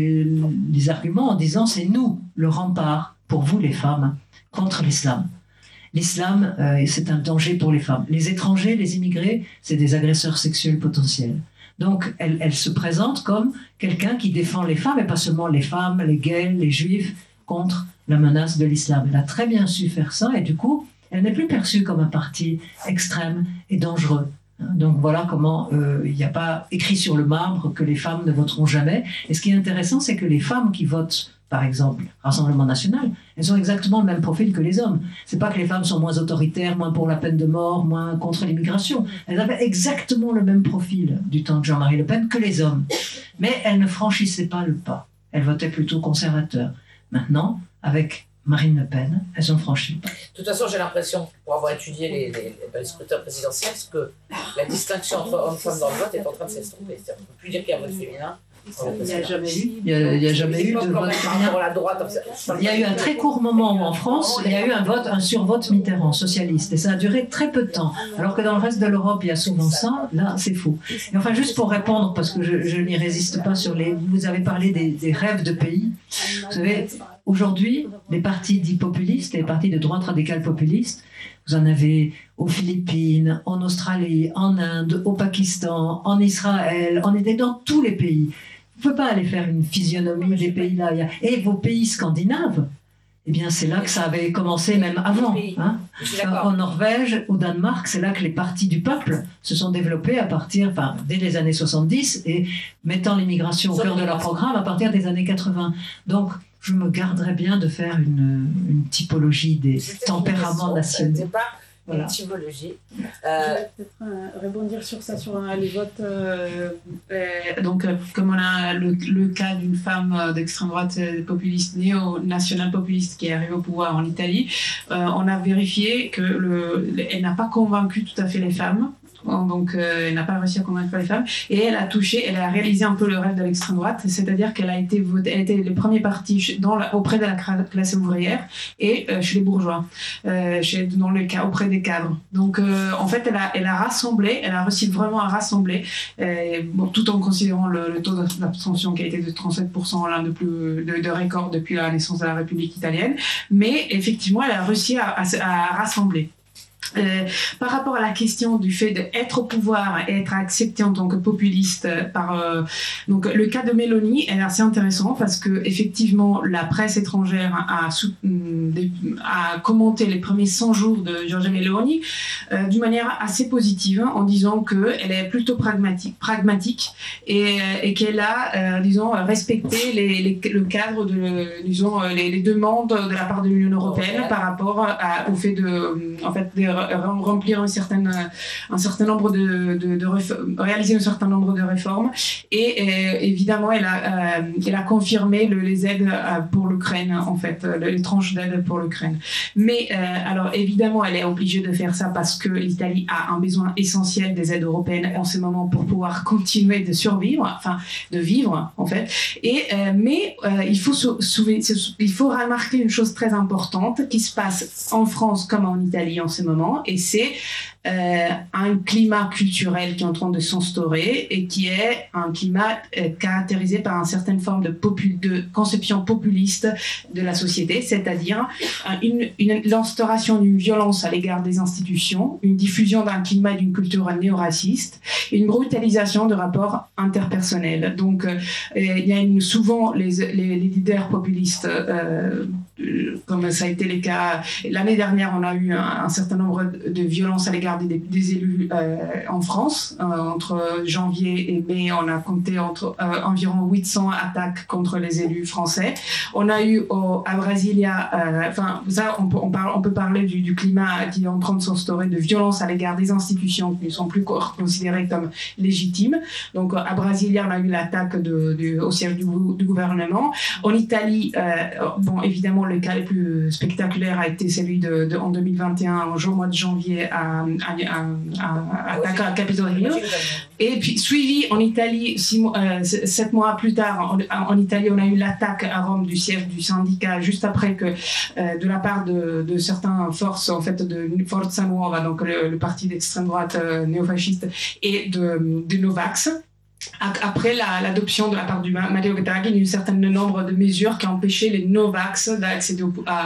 les arguments en disant c'est nous le rempart pour vous les femmes contre l'islam. L'islam, c'est un danger pour les femmes. Les étrangers, les immigrés, c'est des agresseurs sexuels potentiels. Donc elle se présente comme quelqu'un qui défend les femmes, et pas seulement les femmes, les gays, les juifs, contre la menace de l'islam. Elle a très bien su faire ça, et du coup, elle n'est plus perçue comme un parti extrême et dangereux. Donc voilà comment il n'y a pas écrit sur le marbre que les femmes ne voteront jamais. Et ce qui est intéressant, c'est que les femmes qui votent, par exemple, Rassemblement National, elles ont exactement le même profil que les hommes. C'est pas que les femmes sont moins autoritaires, moins pour la peine de mort, moins contre l'immigration. Elles avaient exactement le même profil du temps de Jean-Marie Le Pen que les hommes. Mais elles ne franchissaient pas le pas. Elles votaient plutôt conservateur. Maintenant, avec Marine Le Pen, elles ont franchi le pas. De toute façon, j'ai l'impression, pour avoir étudié les scrutins présidentiels, que la distinction entre hommes et femmes dans le vote est en train de s'estomper. On ne peut plus dire qu'il y a un vote féminin. Il n'y a jamais eu. Il n'y a jamais eu de vote féminin. Il y a eu un très court moment où en France, il y a eu un survote Mitterrand, socialiste, et ça a duré très peu de temps. Alors que dans le reste de l'Europe, il y a souvent ça, là, c'est faux. Et enfin, juste pour répondre, parce que je n'y résiste pas sur vous avez parlé des rêves de pays. Vous savez, aujourd'hui, les partis dits populistes, les partis de droite radicale populiste, vous en avez aux Philippines, en Australie, en Inde, au Pakistan, en Israël, dans tous les pays. Vous ne pouvez pas aller faire une physionomie des pays-là. Et vos pays scandinaves, eh bien c'est là que ça avait commencé même avant. Hein. En Norvège, au Danemark, c'est là que les partis du peuple se sont développés dès les années 70 et mettant l'immigration au cœur de leur programme à partir des années 80. Donc, je me garderais bien de faire une typologie des tempéraments nationaux. Voilà. Une typologie. Je vais peut-être rebondir sur ça, sur les votes. Donc, comme on a le cas d'une femme d'extrême droite populiste, néo-nationale populiste qui est arrivée au pouvoir en Italie, on a vérifié qu'elle n'a pas convaincu tout à fait les femmes donc elle n'a pas réussi à convaincre les femmes, et elle a réalisé un peu le rêve de l'extrême droite, c'est-à-dire qu'elle a été le premier parti auprès de la classe ouvrière et chez les bourgeois, auprès des cadres. Donc en fait elle a réussi vraiment à rassembler, tout en considérant le taux d'abstention qui a été de 37%, l'un de record depuis la naissance de la République italienne, mais effectivement elle a réussi à rassembler. Par rapport à la question du fait d'être au pouvoir et être accepté en tant que populiste donc le cas de Meloni est assez intéressant parce que effectivement la presse étrangère a commenté les premiers 100 jours de Giorgia Meloni d'une manière assez positive en disant qu'elle est plutôt pragmatique et qu'elle a respecté le cadre les demandes de la part de l'Union européenne par rapport au fait de remplir réaliser un certain nombre de réformes et évidemment elle a confirmé les aides pour l'Ukraine en fait, les tranches d'aide pour l'Ukraine. Mais alors évidemment elle est obligée de faire ça parce que l'Italie a un besoin essentiel des aides européennes en ce moment pour pouvoir continuer de vivre en fait. Mais il faut remarquer une chose très importante qui se passe en France comme en Italie en ce moment, et c'est un climat culturel qui est en train de s'instaurer et qui est un climat caractérisé par une certaine forme de conception populiste de la société, c'est-à-dire l'instauration d'une violence à l'égard des institutions, une diffusion d'un climat et d'une culture néo-raciste et une brutalisation de rapports interpersonnels. Donc il y a souvent les leaders populistes, comme ça a été le cas l'année dernière, on a eu un certain nombre de violences à l'égard des élus en France. Entre janvier et mai, on a compté environ 800 attaques contre les élus français. On a eu à Brasilia, on peut parler du climat qui est en train de s'instaurer, de violence à l'égard des institutions qui ne sont plus considérées comme légitimes. Donc à Brasilia, on a eu l'attaque au siège du gouvernement. En Italie, évidemment, le cas le plus spectaculaire a été celui en 2021, au mois de janvier, attaque à Capitol Hill. Et puis suivi en Italie, 7 mois plus tard, en Italie, on a eu l'attaque à Rome du siège du syndicat juste après que, de la part de certaines forces, en fait, de Forza Nuova, donc le parti d'extrême droite néofasciste, et de Novax. Après l'adoption de la part du Matteo Draghi d'un certain nombre de mesures qui ont empêché les no-vax d'accéder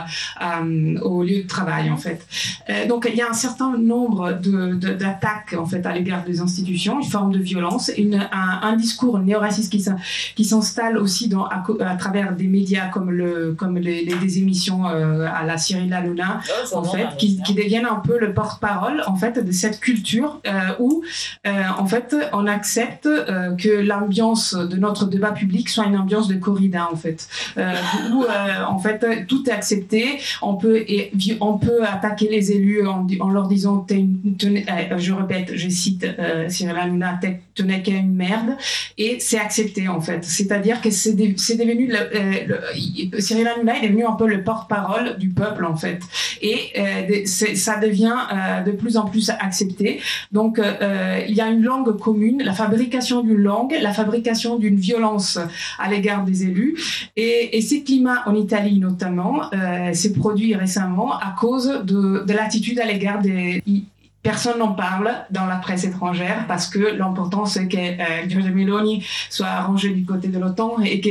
au lieu de travail en fait. Donc il y a un certain nombre d'attaques en fait à l'égard des institutions, une forme de violence, un discours néo-raciste qui s'installe aussi à travers des médias comme des émissions à la Cyril Hanouna en fait, qui deviennent un peu le porte-parole en fait de cette culture où en fait on accepte que l'ambiance de notre débat public soit une ambiance de corrida en fait, où en fait tout est accepté. On peut attaquer les élus en leur disant je répète, je cite Cyril Hanouna, tenait qu'à une merde, et c'est accepté en fait. C'est-à-dire que c'est devenu Cyril Hanouna est devenu un peu le porte-parole du peuple en fait, et ça devient de plus en plus accepté. Donc il y a une langue commune, la fabrication d'une langue, la fabrication d'une violence à l'égard des élus, et ces climats en Italie notamment s'est produit récemment à cause de l'attitude à l'égard des... Personne n'en parle dans la presse étrangère parce que l'important c'est que Giorgia Meloni soit rangée du côté de l'OTAN et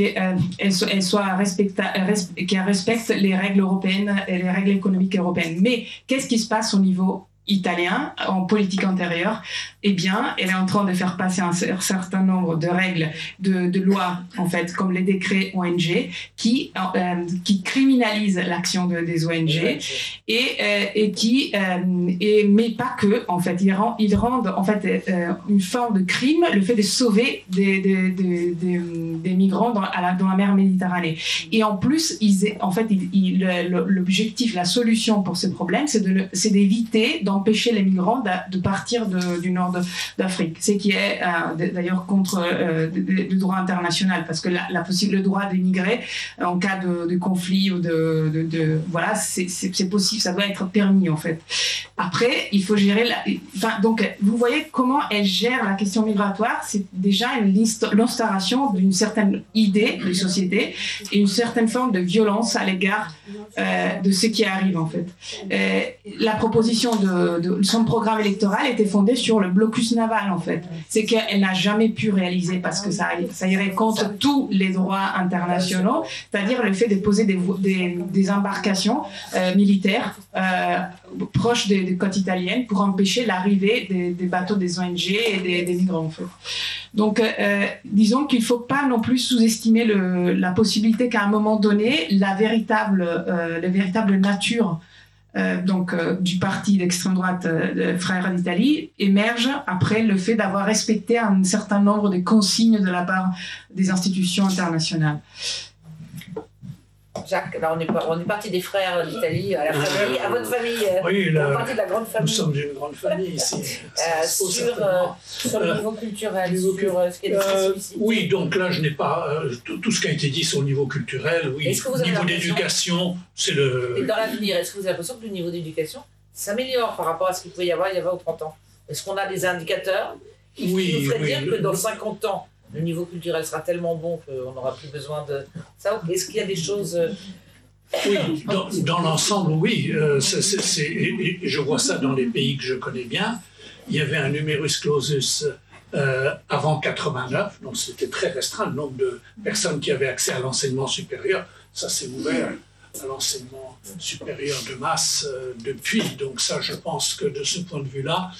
qu'elle respecte les règles européennes et les règles économiques européennes. Mais qu'est-ce qui se passe au niveau italien, en politique intérieure? Eh bien, elle est en train de faire passer un certain nombre de règles, de lois, en fait, comme les décrets ONG, qui criminalisent l'action des ONG mais pas que, en fait. Ils rendent, en fait, une forme de crime le fait de sauver des migrants dans la mer Méditerranée. Et en plus, l'objectif, la solution pour ce problème, c'est d'éviter d'empêcher les migrants de partir du nord nord d'Afrique. Ce qui est d'ailleurs contre le droit international, parce que le droit d'émigrer en cas de conflit ou voilà, c'est possible, ça doit être permis en fait. Après, il faut gérer donc vous voyez comment elle gère la question migratoire. C'est déjà l'instauration d'une certaine idée de société et une certaine forme de violence à l'égard de ce qui arrive en fait. La proposition de son programme électoral était fondée sur le blocus naval en fait. C'est qu'elle n'a jamais pu réaliser parce que ça irait contre tous les droits internationaux, c'est-à-dire le fait de poser des embarcations militaires proches des côtes italiennes pour empêcher l'arrivée des bateaux des ONG et des migrants en fait. Donc disons qu'il ne faut pas non plus sous-estimer la possibilité qu'à un moment donné la véritable nature du parti d'extrême droite Frères d'Italie émerge après le fait d'avoir respecté un certain nombre de consignes de la part des institutions internationales. Jacques, là on est parti des Frères d'Italie à la famille, à votre famille. Oui, on est parti de la grande famille. Nous sommes d'une grande famille ici. Sur le niveau culturel, sur ce qui est des spécificités. Oui, donc là je n'ai pas tout ce qui a été dit sur le niveau culturel. Oui, niveau d'éducation, c'est le. Et dans l'avenir, est-ce que vous avez l'impression que le niveau d'éducation s'améliore par rapport à ce qu'il pouvait y avoir il y a 20 ou 30 ans? Est-ce qu'on a des indicateurs qui nous feraient dire que dans 50 ans, le niveau culturel sera tellement bon qu'on n'aura plus besoin de ça? Est-ce qu'il y a des choses... Oui, dans l'ensemble, oui. Je vois ça dans les pays que je connais bien. Il y avait un numerus clausus avant 89, donc c'était très restreint le nombre de personnes qui avaient accès à l'enseignement supérieur. Ça s'est ouvert à l'enseignement supérieur de masse depuis. Donc ça, je pense que de ce point de vue-là...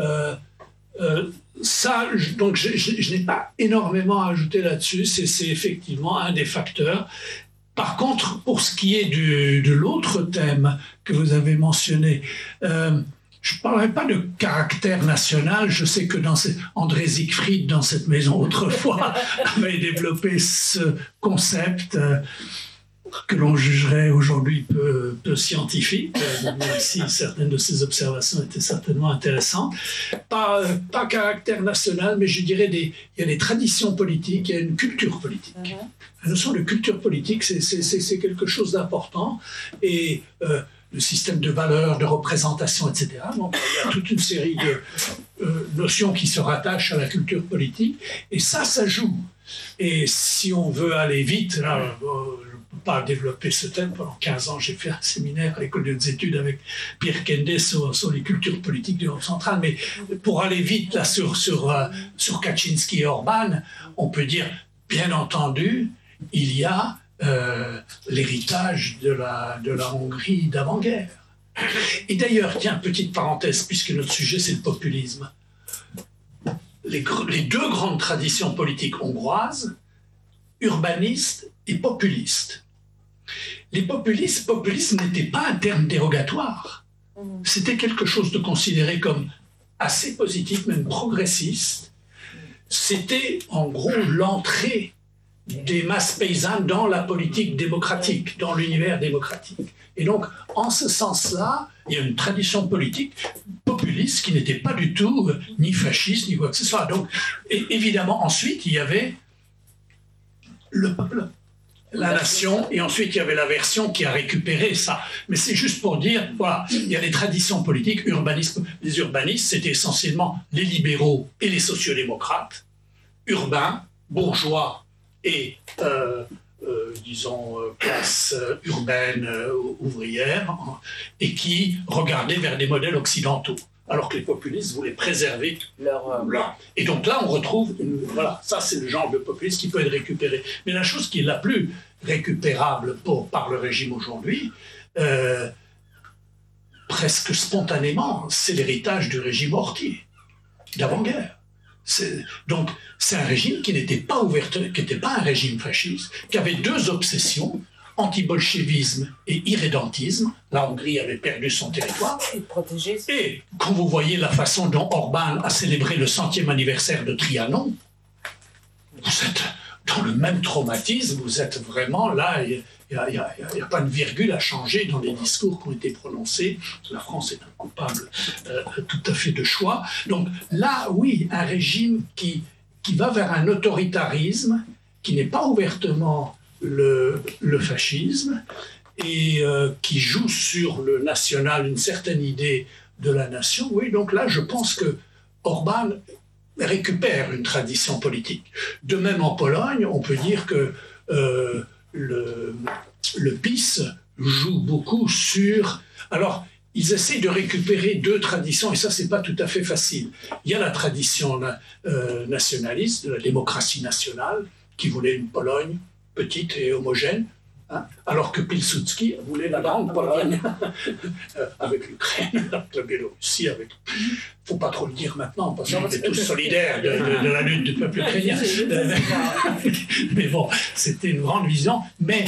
donc je n'ai pas énormément à ajouter là-dessus, c'est effectivement un des facteurs. Par contre, pour ce qui est de l'autre thème que vous avez mentionné, je ne parlerai pas de caractère national. Je sais que André Siegfried, dans cette maison autrefois, avait développé ce concept que l'on jugerait aujourd'hui peu scientifique, même si certaines de ces observations étaient certainement intéressantes. Pas caractère national, mais je dirais il y a des traditions politiques, il y a une culture politique. La notion de culture politique, c'est quelque chose d'important. Et le système de valeurs, de représentation, etc. Donc, il y a toute une série de notions qui se rattachent à la culture politique. Et ça joue. Et si on veut aller vite, là, pas développer ce thème. Pendant 15 ans, j'ai fait un séminaire à l'école des études avec Pierre Kende sur les cultures politiques d'Europe centrale. Mais pour aller vite là, sur Kaczynski et Orban, on peut dire, bien entendu, il y a l'héritage de la Hongrie d'avant-guerre. Et d'ailleurs, tiens, petite parenthèse, puisque notre sujet, c'est le populisme. Les deux grandes traditions politiques hongroises, urbanistes et populistes. Les populisme n'était pas un terme dérogatoire. C'était quelque chose de considéré comme assez positif, même progressiste. C'était en gros l'entrée des masses paysannes dans la politique démocratique, dans l'univers démocratique. Et donc, en ce sens-là, il y a une tradition politique populiste qui n'était pas du tout ni fasciste, ni quoi que ce soit. Donc, évidemment, ensuite, il y avait le peuple, la nation, et ensuite il y avait la version qui a récupéré ça. Mais c'est juste pour dire, voilà, il y a des traditions politiques, les urbanistes, c'était essentiellement les libéraux et les sociodémocrates, urbains, bourgeois et, disons, classe urbaine, ouvrière, et qui regardaient vers des modèles occidentaux. Alors que les populistes voulaient préserver leur... Et donc là, on retrouve... voilà, ça, c'est le genre de populisme qui peut être récupéré. Mais la chose qui est la plus récupérable par le régime aujourd'hui, presque spontanément, c'est l'héritage du régime Horthy, d'avant-guerre. Donc, c'est un régime qui n'était pas qui n'était pas un régime fasciste, qui avait deux obsessions, anti-bolchevisme et irrédentisme. La Hongrie avait perdu son territoire. Et quand vous voyez la façon dont Orban a célébré le 100e anniversaire de Trianon, vous êtes dans le même traumatisme, vous êtes vraiment là, il n'y a pas de virgule à changer dans les discours qui ont été prononcés. La France est un coupable tout à fait de choix. Donc là, oui, un régime qui va vers un autoritarisme, qui n'est pas ouvertement le fascisme, et qui joue sur le national une certaine idée de la nation. Oui, donc là, je pense que Orbán récupère une tradition politique. De même en Pologne, on peut dire que le PiS joue beaucoup sur... Alors, ils essaient de récupérer deux traditions, et ça, c'est pas tout à fait facile. Il y a la tradition nationaliste, de la démocratie nationale, qui voulait une Pologne petite et homogène, hein, alors que Pilsudski voulait la grande Pologne, avec l'Ukraine, avec la Biélorussie, avec... Faut pas trop le dire maintenant, parce qu'on est tous solidaires de la lutte du peuple ukrainien. Mais bon, c'était une grande vision. Mais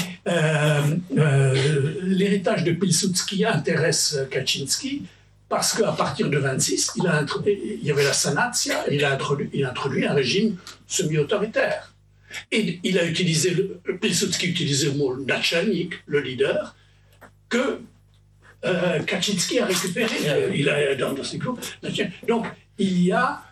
l'héritage de Pilsudski intéresse Kaczynski, parce qu'à partir de 1926, il y avait la Sanacja, il a introduit un régime semi-autoritaire. Et il a utilisé, Pilsudski utilisait le mot nachalnik, le leader, que Kaczynski a récupéré. Il a dans ses cours. Donc il y a,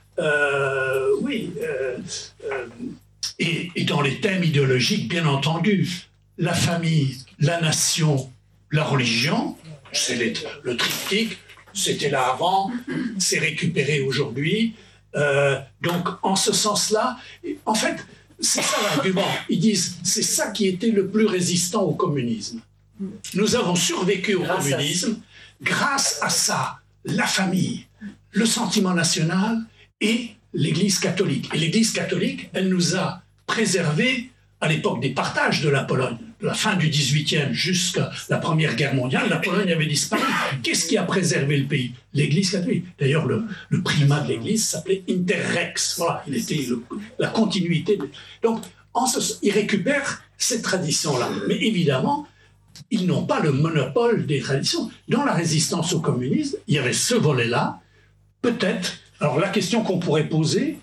et dans les thèmes idéologiques, bien entendu, la famille, la nation, la religion, c'est le triptyque. C'était là avant, c'est récupéré aujourd'hui. Donc en ce sens-là, en fait. C'est ça l'argument. Ils disent c'est ça qui était le plus résistant au communisme. Nous avons survécu au communisme grâce à ça, la famille, le sentiment national et l'Église catholique. Et l'Église catholique, elle nous a préservés à l'époque des partages de la Pologne, de la fin du XVIIIe jusqu'à la Première Guerre mondiale. La Pologne avait disparu. Qu'est-ce qui a préservé le pays? L'Église catholique. D'ailleurs, le primat de l'Église s'appelait Interrex. Voilà, il était la continuité. Donc, ils récupèrent cette tradition-là. Mais évidemment, ils n'ont pas le monopole des traditions. Dans la résistance au communisme, il y avait ce volet-là. Peut-être, alors la question qu'on pourrait poser,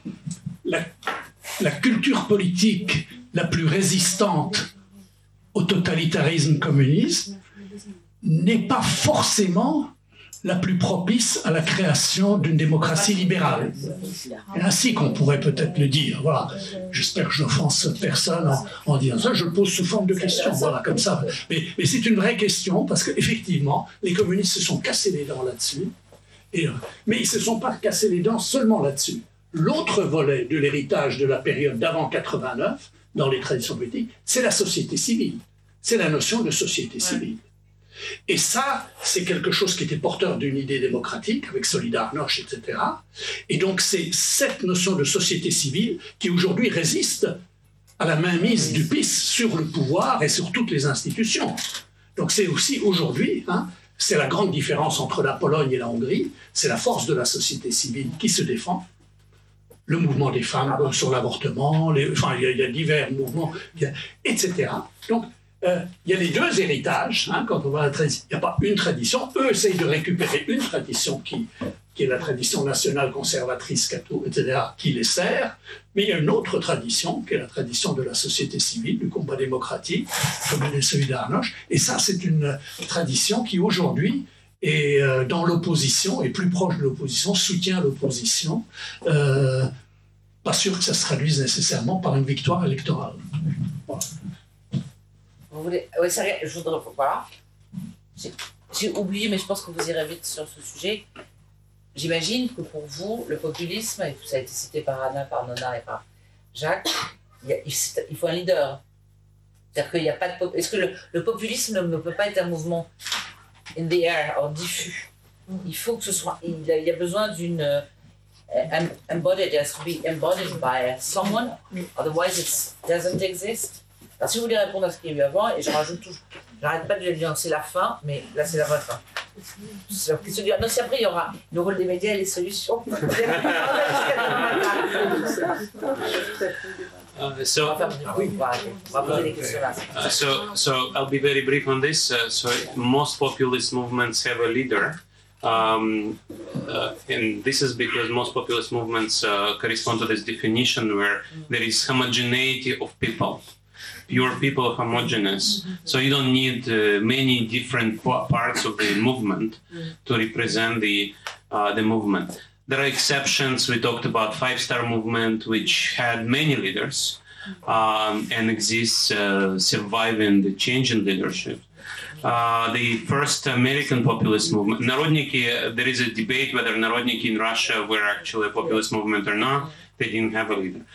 la culture politique la plus résistante au totalitarisme communiste n'est pas forcément la plus propice à la création d'une démocratie libérale. C'est ainsi qu'on pourrait peut-être le dire. Voilà. J'espère que je n'offense personne en disant ça. Je le pose sous forme de question. Voilà, comme ça. Mais c'est une vraie question parce qu'effectivement, les communistes se sont cassés les dents là-dessus. Mais ils ne se sont pas cassés les dents seulement là-dessus. L'autre volet de l'héritage de la période d'avant 89, dans les traditions politiques, c'est la société civile. C'est la notion de société civile. Et ça, c'est quelque chose qui était porteur d'une idée démocratique, avec Solidarność, etc. Et donc, c'est cette notion de société civile qui aujourd'hui résiste à la mainmise du PiS sur le pouvoir et sur toutes les institutions. Donc, c'est aussi aujourd'hui, c'est la grande différence entre la Pologne et la Hongrie, c'est la force de la société civile qui se défend. Le mouvement des femmes sur l'avortement, il y a divers mouvements, etc. Donc, il y a les deux héritages. Quand on voit la tradition, il n'y a pas une tradition. Eux essayent de récupérer une tradition qui est la tradition nationale conservatrice, catho, etc., qui les sert. Mais il y a une autre tradition, qui est la tradition de la société civile, du combat démocratique, comme le Solidarność. Et ça, c'est une tradition qui, aujourd'hui, est dans l'opposition, est plus proche de l'opposition, soutient l'opposition. Pas sûr que ça se traduise nécessairement par une victoire électorale. Voilà. Vous voulez... Oui, je voudrais... Voilà. J'ai oublié, mais je pense que vous irez vite sur ce sujet. J'imagine que pour vous, le populisme, et ça a été cité par Anna, par Nona et par Jacques, il faut un leader. C'est-à-dire qu'il n'y a pas de... Est-ce que le populisme ne peut pas être un mouvement in the air, or diffus? Il faut que ce soit... Il y a besoin d'une... embodied, it has to be embodied by someone, otherwise it doesn't exist. Alors si vous voulez répondre à ce qu'il y a eu avant, et je rajoute toujours, j'arrête pas de dire c'est la fin, mais là c'est la vraie fin. Non, si après il y aura le rôle des médias et les solutions. So I'll be very brief on this. So most populist movements have a leader, And this is because most populist movements correspond to this definition where there is homogeneity of people. Pure people are homogeneous, so you don't need many different parts of the movement to represent the movement. There are exceptions. We talked about Five-Star Movement, which had many leaders and exists surviving the change in leadership. The first American populist movement, Narodniki, there is a debate whether Narodniki in Russia were actually a populist movement or not. They didn't have a leader.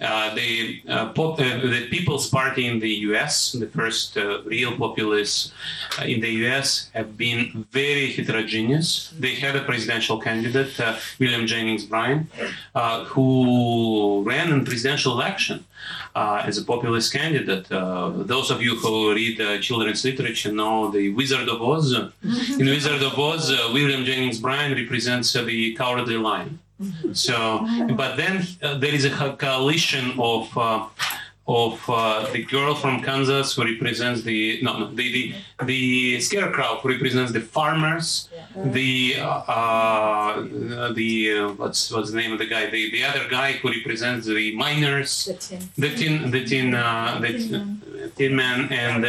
The People's Party in the US, the first real populists in the US, have been very heterogeneous. They had a presidential candidate, William Jennings Bryan, who ran in presidential election as a populist candidate. Those of you who read children's literature know the Wizard of Oz. In Wizard of Oz, William Jennings Bryan represents the Cowardly Lion. So, but then there is a coalition of the girl from Kansas who represents the scarecrow who represents the farmers, the what's the name of the guy? The other guy who represents the miners, the tin man,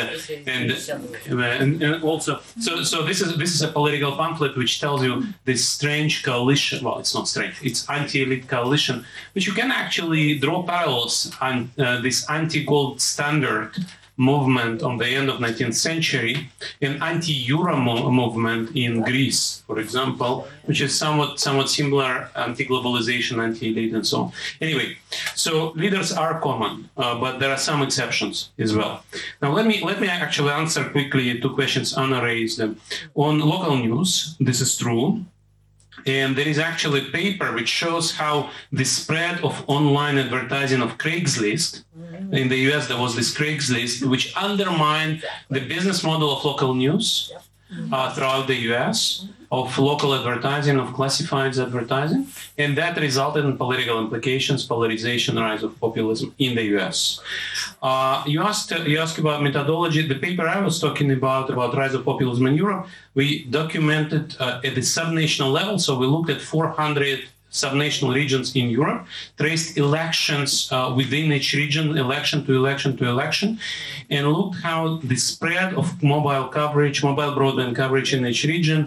and also so this is a political pamphlet which tells you this strange coalition. Well, it's not strange; it's anti-elite coalition, which you can actually draw parallels on this anti-gold standard movement on the end of 19th century, an anti-euro movement in Greece, for example, which is somewhat similar, anti-globalization, anti-elite, and so on. Anyway, so leaders are common, but there are some exceptions as well. Now, let me actually answer quickly two questions Anna raised. On local news, this is true. And there is actually a paper which shows how the spread of online advertising of Craigslist, in the US there was this Craigslist, which undermined the business model of local news throughout the US, of local advertising, of classifieds advertising, and that resulted in political implications, polarization, rise of populism in the US. You asked about methodology. The paper I was talking about rise of populism in Europe, we documented at the subnational level, so we looked at 400 subnational regions in Europe, traced elections within each region, election to election to election, and looked how the spread of mobile broadband coverage in each region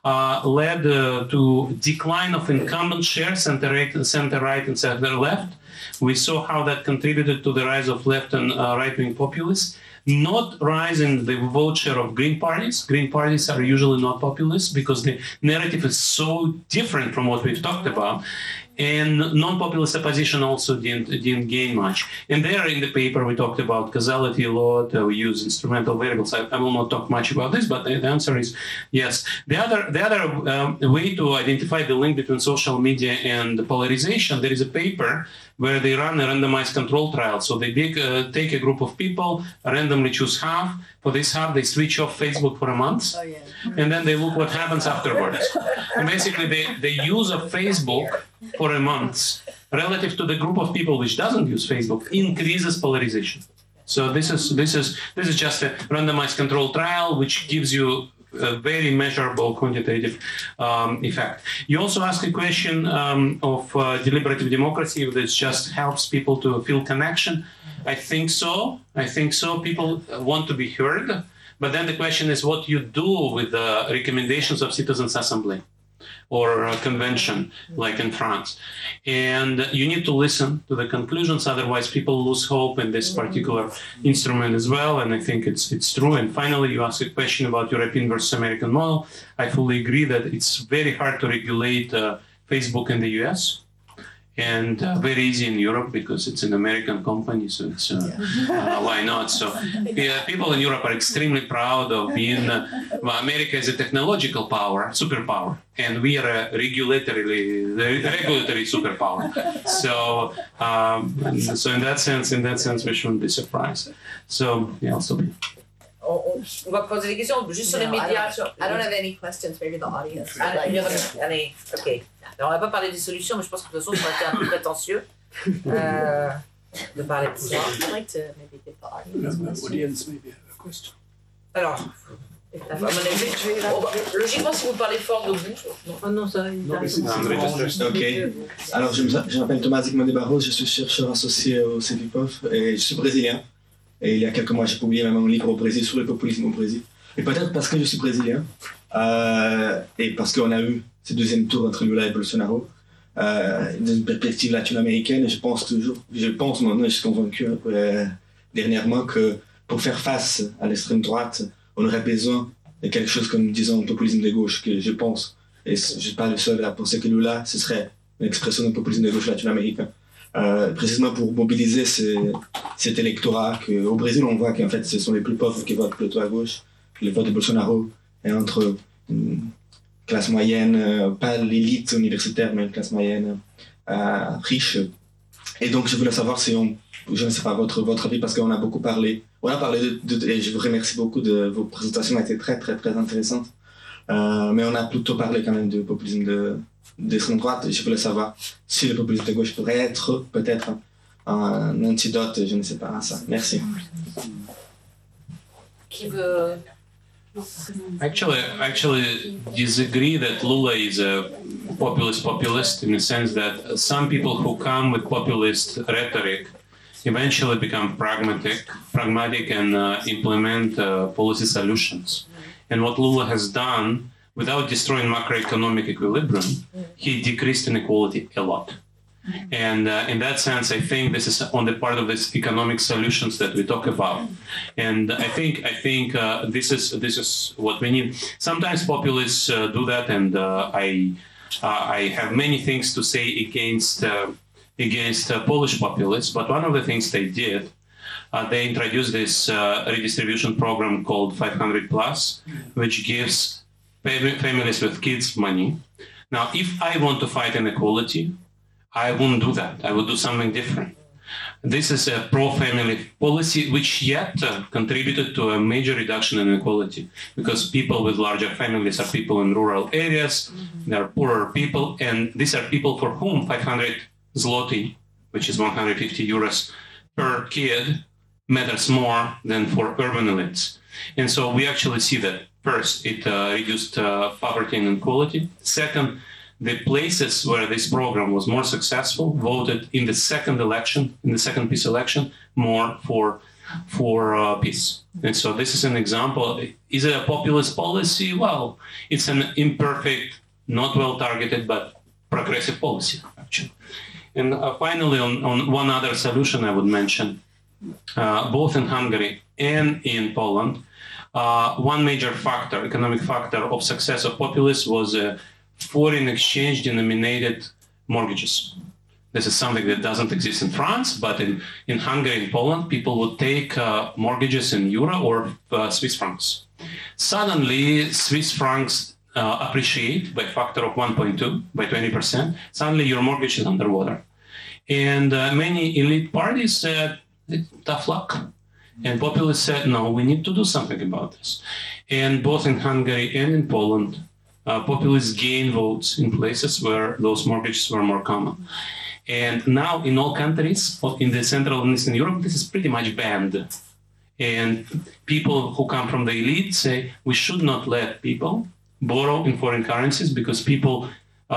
led to decline of incumbent shares, center right and center left. We saw how that contributed to the rise of left and right-wing populists. Not rise in the vote share of green parties. Green parties are usually not populist because the narrative is so different from what we've talked about. And non-populist opposition also didn't gain much. And there in the paper we talked about causality a lot. We use instrumental variables. I will not talk much about this, but the answer is yes. The other way to identify the link between social media and the polarization, there is a paper where they run a randomized control trial. So they take a group of people, randomly choose half. For this half, they switch off Facebook for a month, and then they look what happens afterwards. And basically, the use of Facebook for a month relative to the group of people which doesn't use Facebook increases polarization. So this is just a randomized control trial which gives you a very measurable quantitative effect. You also asked a question of deliberative democracy, which just helps people to feel connection. I think so. People want to be heard. But then the question is what you do with the recommendations of Citizens' Assembly or a convention like in France. And you need to listen to the conclusions, otherwise people lose hope in this particular instrument as well, and I think it's true. And finally, you asked a question about European versus American model. I fully agree that it's very hard to regulate Facebook in the US. And very easy in Europe because it's an American company, so it's why not? So people in Europe are extremely proud of being. America is a technological power, superpower, and we are a regulatory superpower. So, so in that sense, we shouldn't be surprised. So yeah, I'll stop here. On va poser des questions juste sur les médias. I don't have any questions. Maybe the audience. Allez, ok. Alors, on n'a pas parlé des solutions, mais je pense que de toute façon, ça aurait été un peu prétentieux de parler de ça. I'd like to maybe give the audience audience maybe have a question. Alors, À mon avis, logiquement, si vous parlez fort de vous. Oh non, ça. Ok. Alors, je m'appelle Thomas Zygmunt de Barros, je suis chercheur associé au CEVIPOF et je suis brésilien. Et il y a quelques mois, j'ai publié même un livre au Brésil sur le populisme au Brésil. Et peut-être parce que je suis brésilien et parce qu'on a eu ce deuxième tour entre Lula et Bolsonaro, d'une perspective latino-américaine, et je pense, maintenant, je suis convaincu dernièrement que pour faire face à l'extrême droite, on aurait besoin de quelque chose comme, disons, un populisme de gauche, que je pense, et je ne suis pas le seul à penser que Lula, ce serait une expression d'un populisme de gauche latino-américain. Précisément pour mobiliser cet électorat qu'au Brésil, on voit qu'en fait, ce sont les plus pauvres qui votent plutôt à gauche. Le vote de Bolsonaro est entre une classe moyenne, pas l'élite universitaire, mais une classe moyenne riche. Et donc, je voulais savoir si je ne sais pas votre avis, parce qu'on a beaucoup parlé. On a parlé et je vous remercie beaucoup de vos présentations, elles étaient très, très, très intéressantes. Mais on a plutôt parlé quand même de populisme d'extrême droite. Et je voulais savoir si le populisme de gauche pourrait être peut-être un antidote, je ne sais pas, à ça. Merci. Qui veut... Actually disagree that Lula is a populist in the sense that some people who come with populist rhetoric eventually become pragmatic and implement policy solutions. And what Lula has done, without destroying macroeconomic equilibrium, he decreased inequality a lot. And in that sense, I think this is on the part of these economic solutions that we talk about. And I think this is what we need. Sometimes populists do that, and I have many things to say against Polish populists. But one of the things they did, they introduced this redistribution program called 500+, which gives families with kids money. Now, if I want to fight inequality, I wouldn't do that. I would do something different. This is a pro-family policy, which yet contributed to a major reduction in inequality, because people with larger families are people in rural areas, they are poorer people, and these are people for whom 500 zloty, which is 150 euros per kid, matters more than for urban elites. And so we actually see that, first, it reduced poverty and inequality. Second, the places where this program was more successful voted in the second peace election, more for peace. And so this is an example. Is it a populist policy? Well, it's an imperfect, not well targeted, but progressive policy, actually. And finally, on one other solution I would mention, both in Hungary and in Poland, one major factor, economic factor of success of populists was foreign exchange denominated mortgages. This is something that doesn't exist in France, but in Hungary and Poland, people would take mortgages in euro or Swiss francs. Suddenly, Swiss francs appreciate by a factor of 1.2, by 20%. Suddenly, your mortgage is underwater. And many elite parties said, tough luck. And populists said, no, we need to do something about this. And both in Hungary and in Poland, populists gain votes in places where those mortgages were more common. And now in all countries in the Central and Eastern Europe, this is pretty much banned. And people who come from the elite say we should not let people borrow in foreign currencies because people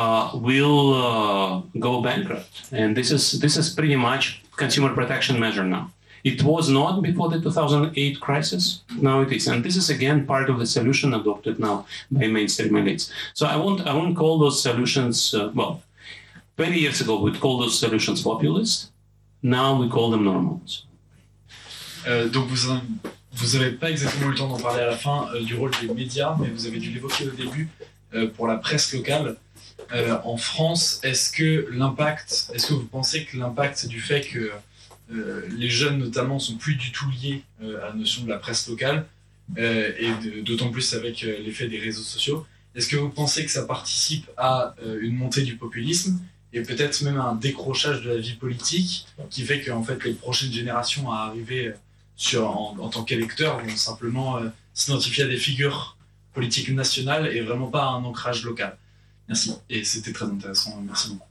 will go bankrupt. And this is pretty much consumer protection measure now. It was not before the 2008 crisis. Now it is. And this is, again, part of the solution adopted now by mainstream elites. So I won't call those solutions, 20 years ago, we'd call those solutions populist. Now we call them normal. Donc vous n'avez pas exactement eu le temps d'en parler à la fin du rôle des médias, mais vous avez dû l'évoquer au début pour la presse locale. En France, est-ce que vous pensez que l'impact du fait que les jeunes notamment sont plus du tout liés à la notion de la presse locale et d'autant plus avec l'effet des réseaux sociaux. Est-ce que vous pensez que ça participe à une montée du populisme et peut-être même à un décrochage de la vie politique qui fait que en fait, les prochaines générations à arriver en tant qu'électeurs vont simplement s'identifier à des figures politiques nationales et vraiment pas à un ancrage local? Merci. Et c'était très intéressant. Merci beaucoup.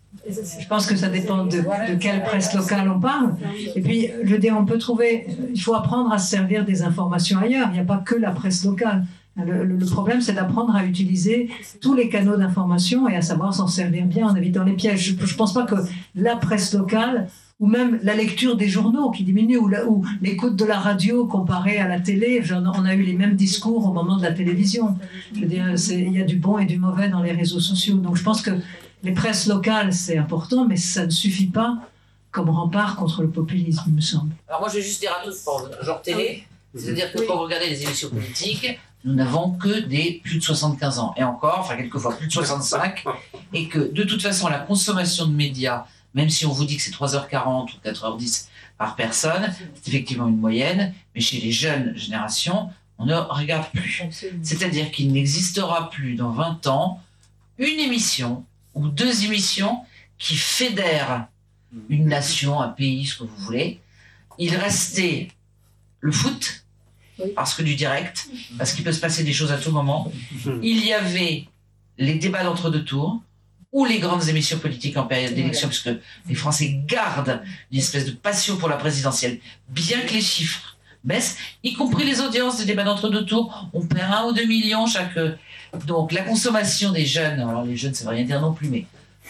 Je pense que ça dépend de quelle presse locale on parle. Et puis, je veux dire, il faut apprendre à se servir des informations ailleurs. Il n'y a pas que la presse locale. Le problème, c'est d'apprendre à utiliser tous les canaux d'information et à savoir s'en servir bien en évitant les pièges. Je ne pense pas que la presse locale, ou même la lecture des journaux qui diminue, ou l'écoute de la radio comparée à la télé, on a eu les mêmes discours au moment de la télévision. Je veux dire, il y a du bon et du mauvais dans les réseaux sociaux. Donc je pense que les presses locales, c'est important, mais ça ne suffit pas comme rempart contre le populisme, il me semble. Alors moi, je vais juste dire un truc pour genre télé, c'est-à-dire que quand vous regardez les émissions politiques, nous n'avons que des plus de 75 ans, et encore, enfin quelquefois plus de 65, et que de toute façon, la consommation de médias, même si on vous dit que c'est 3h40 ou 4h10 par personne, c'est effectivement une moyenne, mais chez les jeunes générations, on ne regarde plus. C'est-à-dire qu'il n'existera plus dans 20 ans une émission ou 2 émissions qui fédèrent une nation, un pays, ce que vous voulez. Il restait le foot, parce que du direct, parce qu'il peut se passer des choses à tout moment. Il y avait les débats d'entre-deux tours, ou les grandes émissions politiques en période d'élection, parce que les Français gardent une espèce de passion pour la présidentielle, bien que les chiffres baissent, y compris les audiences des débats d'entre-deux tours. On perd 1 ou 2 millions chaque... Donc la consommation des jeunes, alors les jeunes ça veut rien dire non plus, mais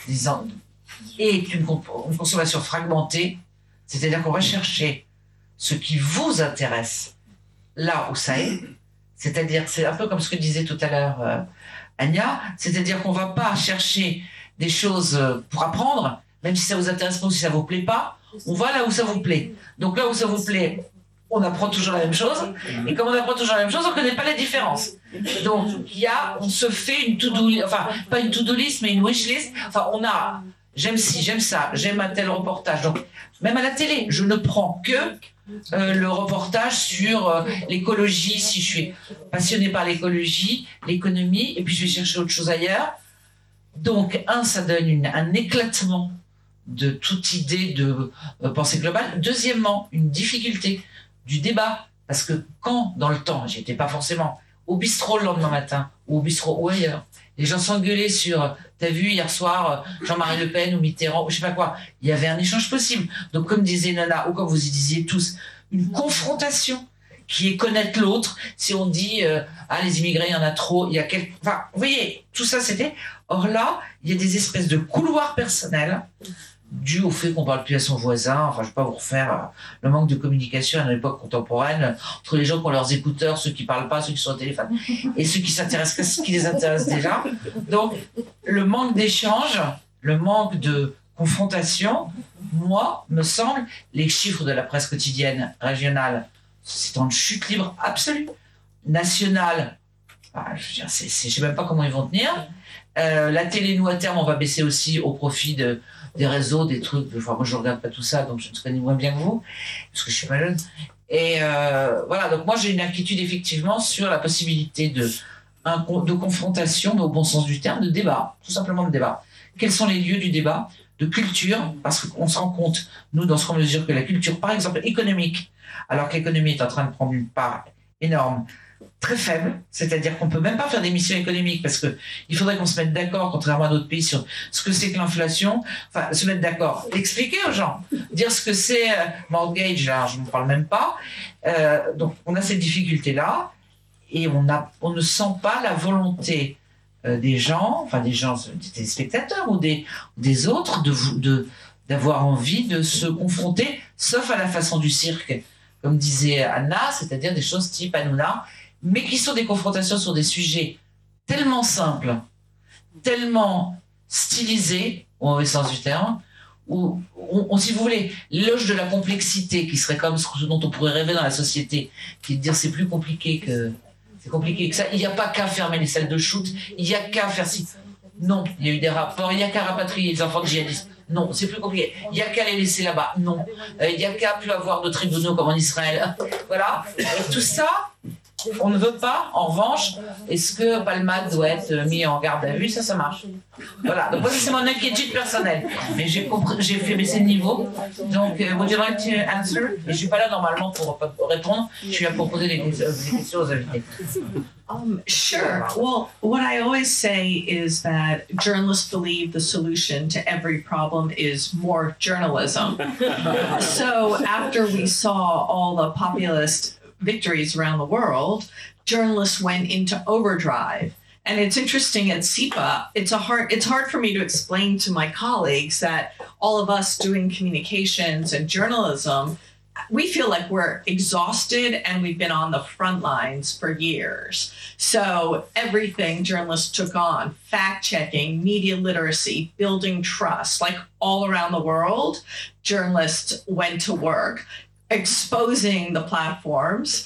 est une consommation fragmentée, c'est-à-dire qu'on va chercher ce qui vous intéresse là où ça est, c'est-à-dire, c'est un peu comme ce que disait tout à l'heure Anya, c'est-à-dire qu'on ne va pas chercher des choses pour apprendre, même si ça vous intéresse pas ou si ça vous plaît pas, on va là où ça vous plaît. Donc là où ça vous plaît, on apprend toujours la même chose, et comme on apprend toujours la même chose, on ne connaît pas la différence. Donc on se fait une to-do list, enfin pas une to-do list, mais une wish list. Enfin on a, j'aime ci, j'aime ça, j'aime un tel reportage. Donc même à la télé, je ne prends que le reportage sur l'écologie, si je suis passionné par l'écologie, l'économie, et puis je vais chercher autre chose ailleurs. Donc ça donne un éclatement de toute idée de pensée globale. Deuxièmement, une difficulté du débat, parce que quand, dans le temps, j'étais pas forcément au bistrot le lendemain matin, ou au bistrot ou ailleurs, les gens s'engueulaient sur « t'as vu hier soir Jean-Marie Le Pen ou Mitterrand » ou je sais pas quoi. Il y avait un échange possible. Donc comme disait Nona, ou comme vous y disiez tous, une confrontation qui est connaître l'autre. Si on dit ah les immigrés il y en a trop, il y a quelques... Enfin, vous voyez, tout ça c'était... Or là, il y a des espèces de couloirs personnels dû au fait qu'on parle plus à son voisin. Enfin, je vais pas vous refaire le manque de communication à l'époque contemporaine entre les gens qui ont leurs écouteurs, ceux qui parlent pas, ceux qui sont au téléphone, et ceux qui s'intéressent qu'à ce qui les intéresse déjà. Donc, le manque d'échange, le manque de confrontation, moi, me semble, les chiffres de la presse quotidienne régionale, c'est en chute libre absolue. Nationale, je veux dire, je sais même pas comment ils vont tenir. La télé, nous, à terme, on va baisser aussi au profit des réseaux, des trucs. Enfin, moi, je regarde pas tout ça, donc je ne connais moins bien que vous, parce que je suis pas jeune. Et voilà, donc moi, j'ai une inquiétude, effectivement, sur la possibilité de confrontation, mais au bon sens du terme, de débat, tout simplement de débat. Quels sont les lieux du débat, de culture, parce qu'on se rend compte, nous, dans ce qu'on mesure, que la culture, par exemple, économique, alors que l'économie est en train de prendre une part énorme, très faible, c'est-à-dire qu'on ne peut même pas faire des missions économiques parce qu'il faudrait qu'on se mette d'accord, contrairement à d'autres pays, sur ce que c'est que l'inflation, enfin se mettre d'accord, expliquer aux gens, dire ce que c'est mortgage, là, je ne parle même pas. Donc on a cette difficulté-là et on ne sent pas la volonté des gens, des spectateurs ou des autres, d'avoir envie de se confronter, sauf à la façon du cirque, comme disait Anna, c'est-à-dire des choses type Hanouna, mais qui sont des confrontations sur des sujets tellement simples, tellement stylisés, au mauvais sens du terme, où, si vous voulez, l'éloge de la complexité, qui serait comme ce dont on pourrait rêver dans la société, qui est de dire c'est plus compliqué que ça, il n'y a pas qu'à fermer les salles de shoot, il n'y a qu'à faire ci. Non, il y a eu des rapports, il n'y a qu'à rapatrier les enfants de djihadistes. Non, c'est plus compliqué. Il n'y a qu'à les laisser là-bas. Non. Il n'y a qu'à plus avoir de tribunaux comme en Israël. Voilà. Et tout ça, on ne veut pas. En revanche, est-ce que Palmade doit être mis en garde à vue? Ça marche. Voilà. Donc moi, c'est mon inquiétude personnelle. Mais j'ai fait baisser le niveau. Donc, would you like to answer? Et je suis pas là normalement pour répondre. Je suis là pour poser des questions aux invités. Sure. Well, what I always say is that journalists believe the solution to every problem is more journalism. So after we saw all the populist victories around the world, journalists went into overdrive. And it's interesting at SIPA, it's hard for me to explain to my colleagues that all of us doing communications and journalism, we feel like we're exhausted and we've been on the front lines for years. So everything journalists took on, fact-checking, media literacy, building trust, like all around the world, journalists went to work, exposing the platforms.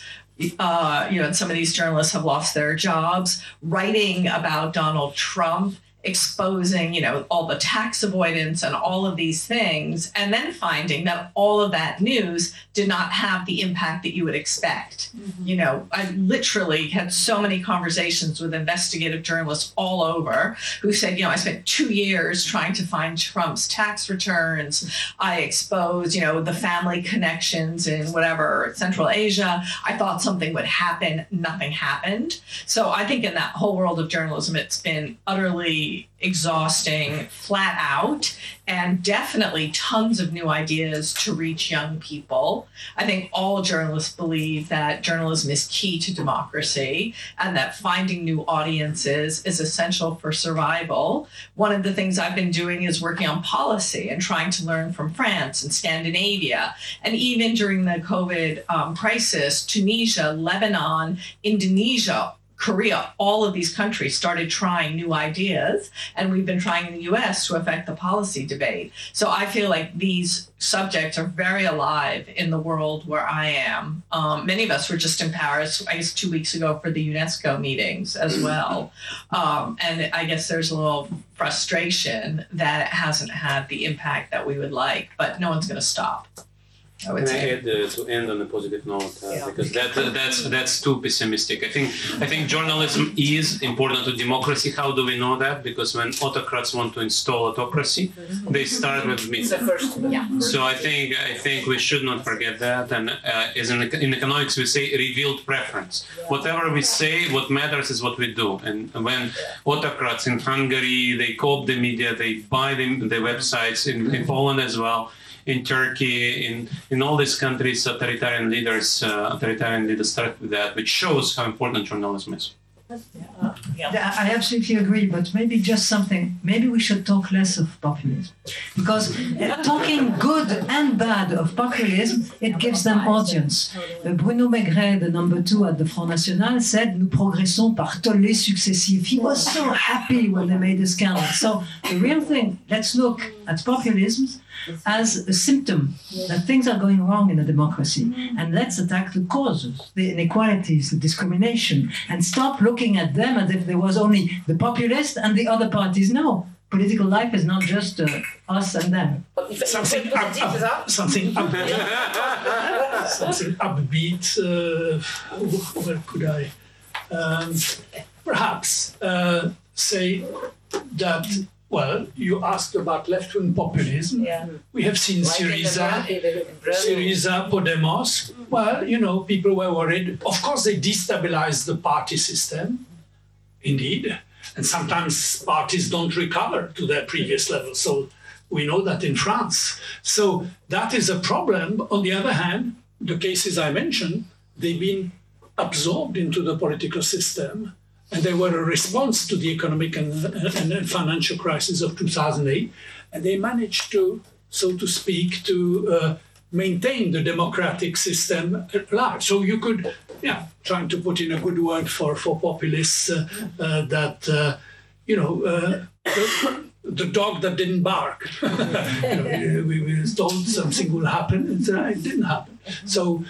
And some of these journalists have lost their jobs, writing about Donald Trump, exposing, all the tax avoidance and all of these things, and then finding that all of that news did not have the impact that you would expect. Mm-hmm. I literally had so many conversations with investigative journalists all over who said, I spent 2 years trying to find Trump's tax returns. I exposed, the family connections in whatever, Central Asia. I thought something would happen. Nothing happened. So I think in that whole world of journalism, it's been utterly exhausting, flat out, and definitely tons of new ideas to reach young people. I think all journalists believe that journalism is key to democracy and that finding new audiences is essential for survival. One of the things I've been doing is working on policy and trying to learn from France and Scandinavia. And even during the COVID crisis, Tunisia, Lebanon, Indonesia, Korea, all of these countries started trying new ideas, and we've been trying in the US to affect the policy debate. So I feel like these subjects are very alive in the world where I am. Many of us were just in Paris, I guess 2 weeks ago for the UNESCO meetings as well. And I guess there's a little frustration that it hasn't had the impact that we would like, but no one's going to stop. Can I add to end on a positive note because that's too pessimistic. I think journalism is important to democracy. How do we know that? Because when autocrats want to install autocracy, they start with media. So I think we should not forget that. And as in economics, we say revealed preference. Whatever we say, what matters is what we do. And when autocrats in Hungary, they co-opt the media, they buy the websites in Poland as well. In Turkey, in all these countries, authoritarian leaders start with that, which shows how important journalism is. I absolutely agree, but maybe just something. Maybe we should talk less of populism, because talking good and bad of populism, it gives them audience. Bruno Maigret, the number 2 at the Front National, said, "Nous progressons par tollés successifs." He was so happy when they made a scandal. So the real thing, let's look at populism as a symptom that things are going wrong in a democracy, and let's attack the causes, the inequalities, the discrimination, and stop looking at them as if there was only the populist and the other parties. No, political life is not just us and them. Something upbeat. Where could I perhaps say that? Well, you asked about left-wing populism. Yeah. We have seen Syriza, Podemos. Well, people were worried. Of course, they destabilized the party system, indeed. And sometimes parties don't recover to their previous level. So we know that in France. So that is a problem. On the other hand, the cases I mentioned, they've been absorbed into the political system. And they were a response to the economic and financial crisis of 2008. And they managed to, so to speak, to maintain the democratic system at large. So you could, trying to put in a good word for populists, the dog that didn't bark. We were told something will happen, and it didn't happen. So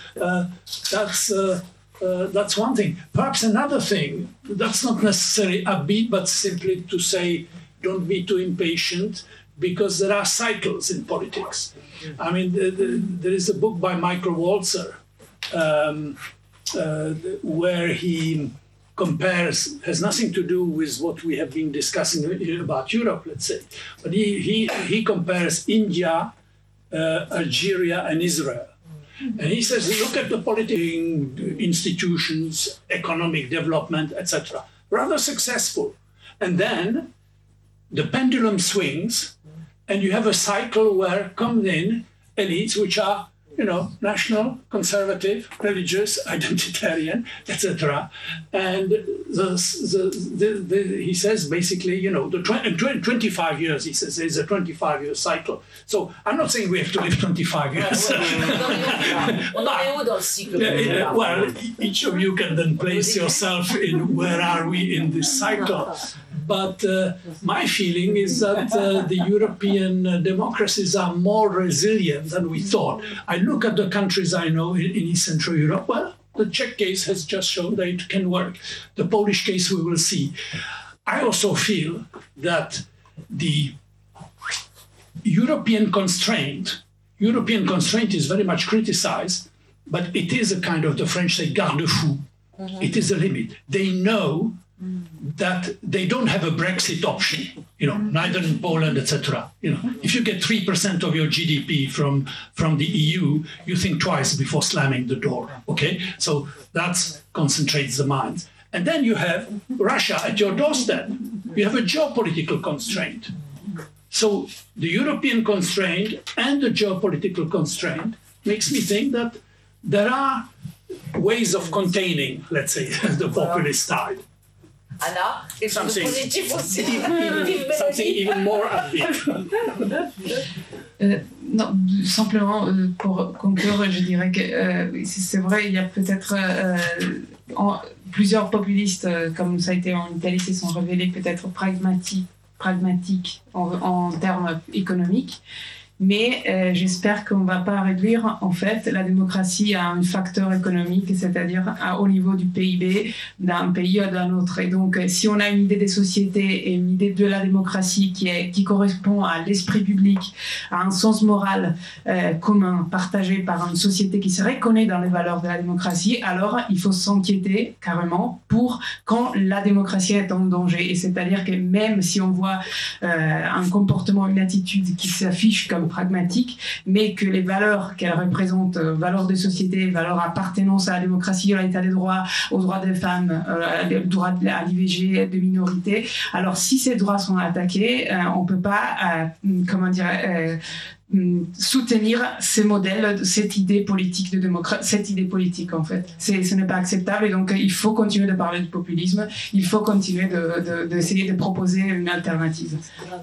that's one thing. Perhaps another thing, that's not necessarily upbeat, but simply to say, don't be too impatient, because there are cycles in politics. I mean, there is a book by Michael Walzer, where he compares, has nothing to do with what we have been discussing about Europe, let's say, but he compares India, Algeria, and Israel. And he says, look at the political institutions, economic development, etc. Rather successful. And then the pendulum swings, and you have a cycle where come in elites which are, national, conservative, religious, identitarian, etc. And he says basically, the 25 years, he says, there's a 25-year cycle. So I'm not saying we have to live 25 years. Well, each of you can then place yourself in where are we in this cycle. But my feeling is that the European democracies are more resilient than we thought. I look at the countries I know in East Central Europe. Well, the Czech case has just shown that it can work. The Polish case we will see. I also feel that the European constraint is very much criticized, but it is a kind of, the French say, garde-fou. It is a limit. They know that they don't have a Brexit option, neither in Poland, etc. If you get 3% of your GDP from the EU, you think twice before slamming the door, okay? So that concentrates the minds. And then you have Russia at your doorstep. You have a geopolitical constraint. So the European constraint and the geopolitical constraint makes me think that there are ways of containing, let's say, the populist tide. Anna, quelque chose de positif aussi. Something even more upbeat. Non, simplement pour conclure, je dirais que c'est vrai, il y a peut-être plusieurs populistes, comme ça a été en Italie, se sont révélés peut-être pragmatiques en termes économiques. Mais j'espère qu'on ne va pas réduire en fait la démocratie à un facteur économique, c'est-à-dire au niveau du PIB d'un pays à d'un autre. Et donc, si on a une idée des sociétés et une idée de la démocratie qui correspond à l'esprit public, à un sens moral commun, partagé par une société qui se reconnaît dans les valeurs de la démocratie, alors il faut s'inquiéter carrément pour quand la démocratie est en danger. Et c'est-à-dire que même si on voit un comportement, une attitude qui s'affiche comme pragmatique, mais que les valeurs qu'elle représente, valeurs de société, valeurs appartenance à la démocratie, à l'état des droits, aux droits des femmes, au droit à l'IVG, de minorités, alors si ces droits sont attaqués, on ne peut pas, soutenir ces modèles, cette idée politique de démocratie, cette idée politique en fait. Ce n'est pas acceptable et donc il faut continuer de parler de populisme, il faut continuer d'essayer de proposer une alternative.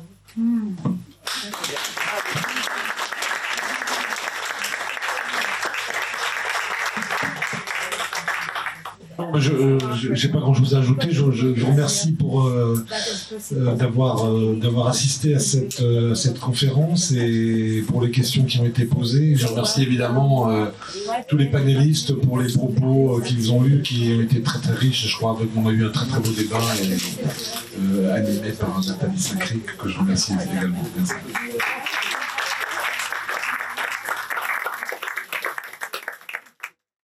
Je n'ai pas grand-chose à ajouter. Je vous remercie pour d'avoir assisté à cette conférence et pour les questions qui ont été posées. Je remercie évidemment tous les panélistes pour les propos qu'ils ont eus, qui ont été très très riches. Je crois qu'on a eu un très très beau débat animé par Nathalie Sacré, que je remercie également. Merci.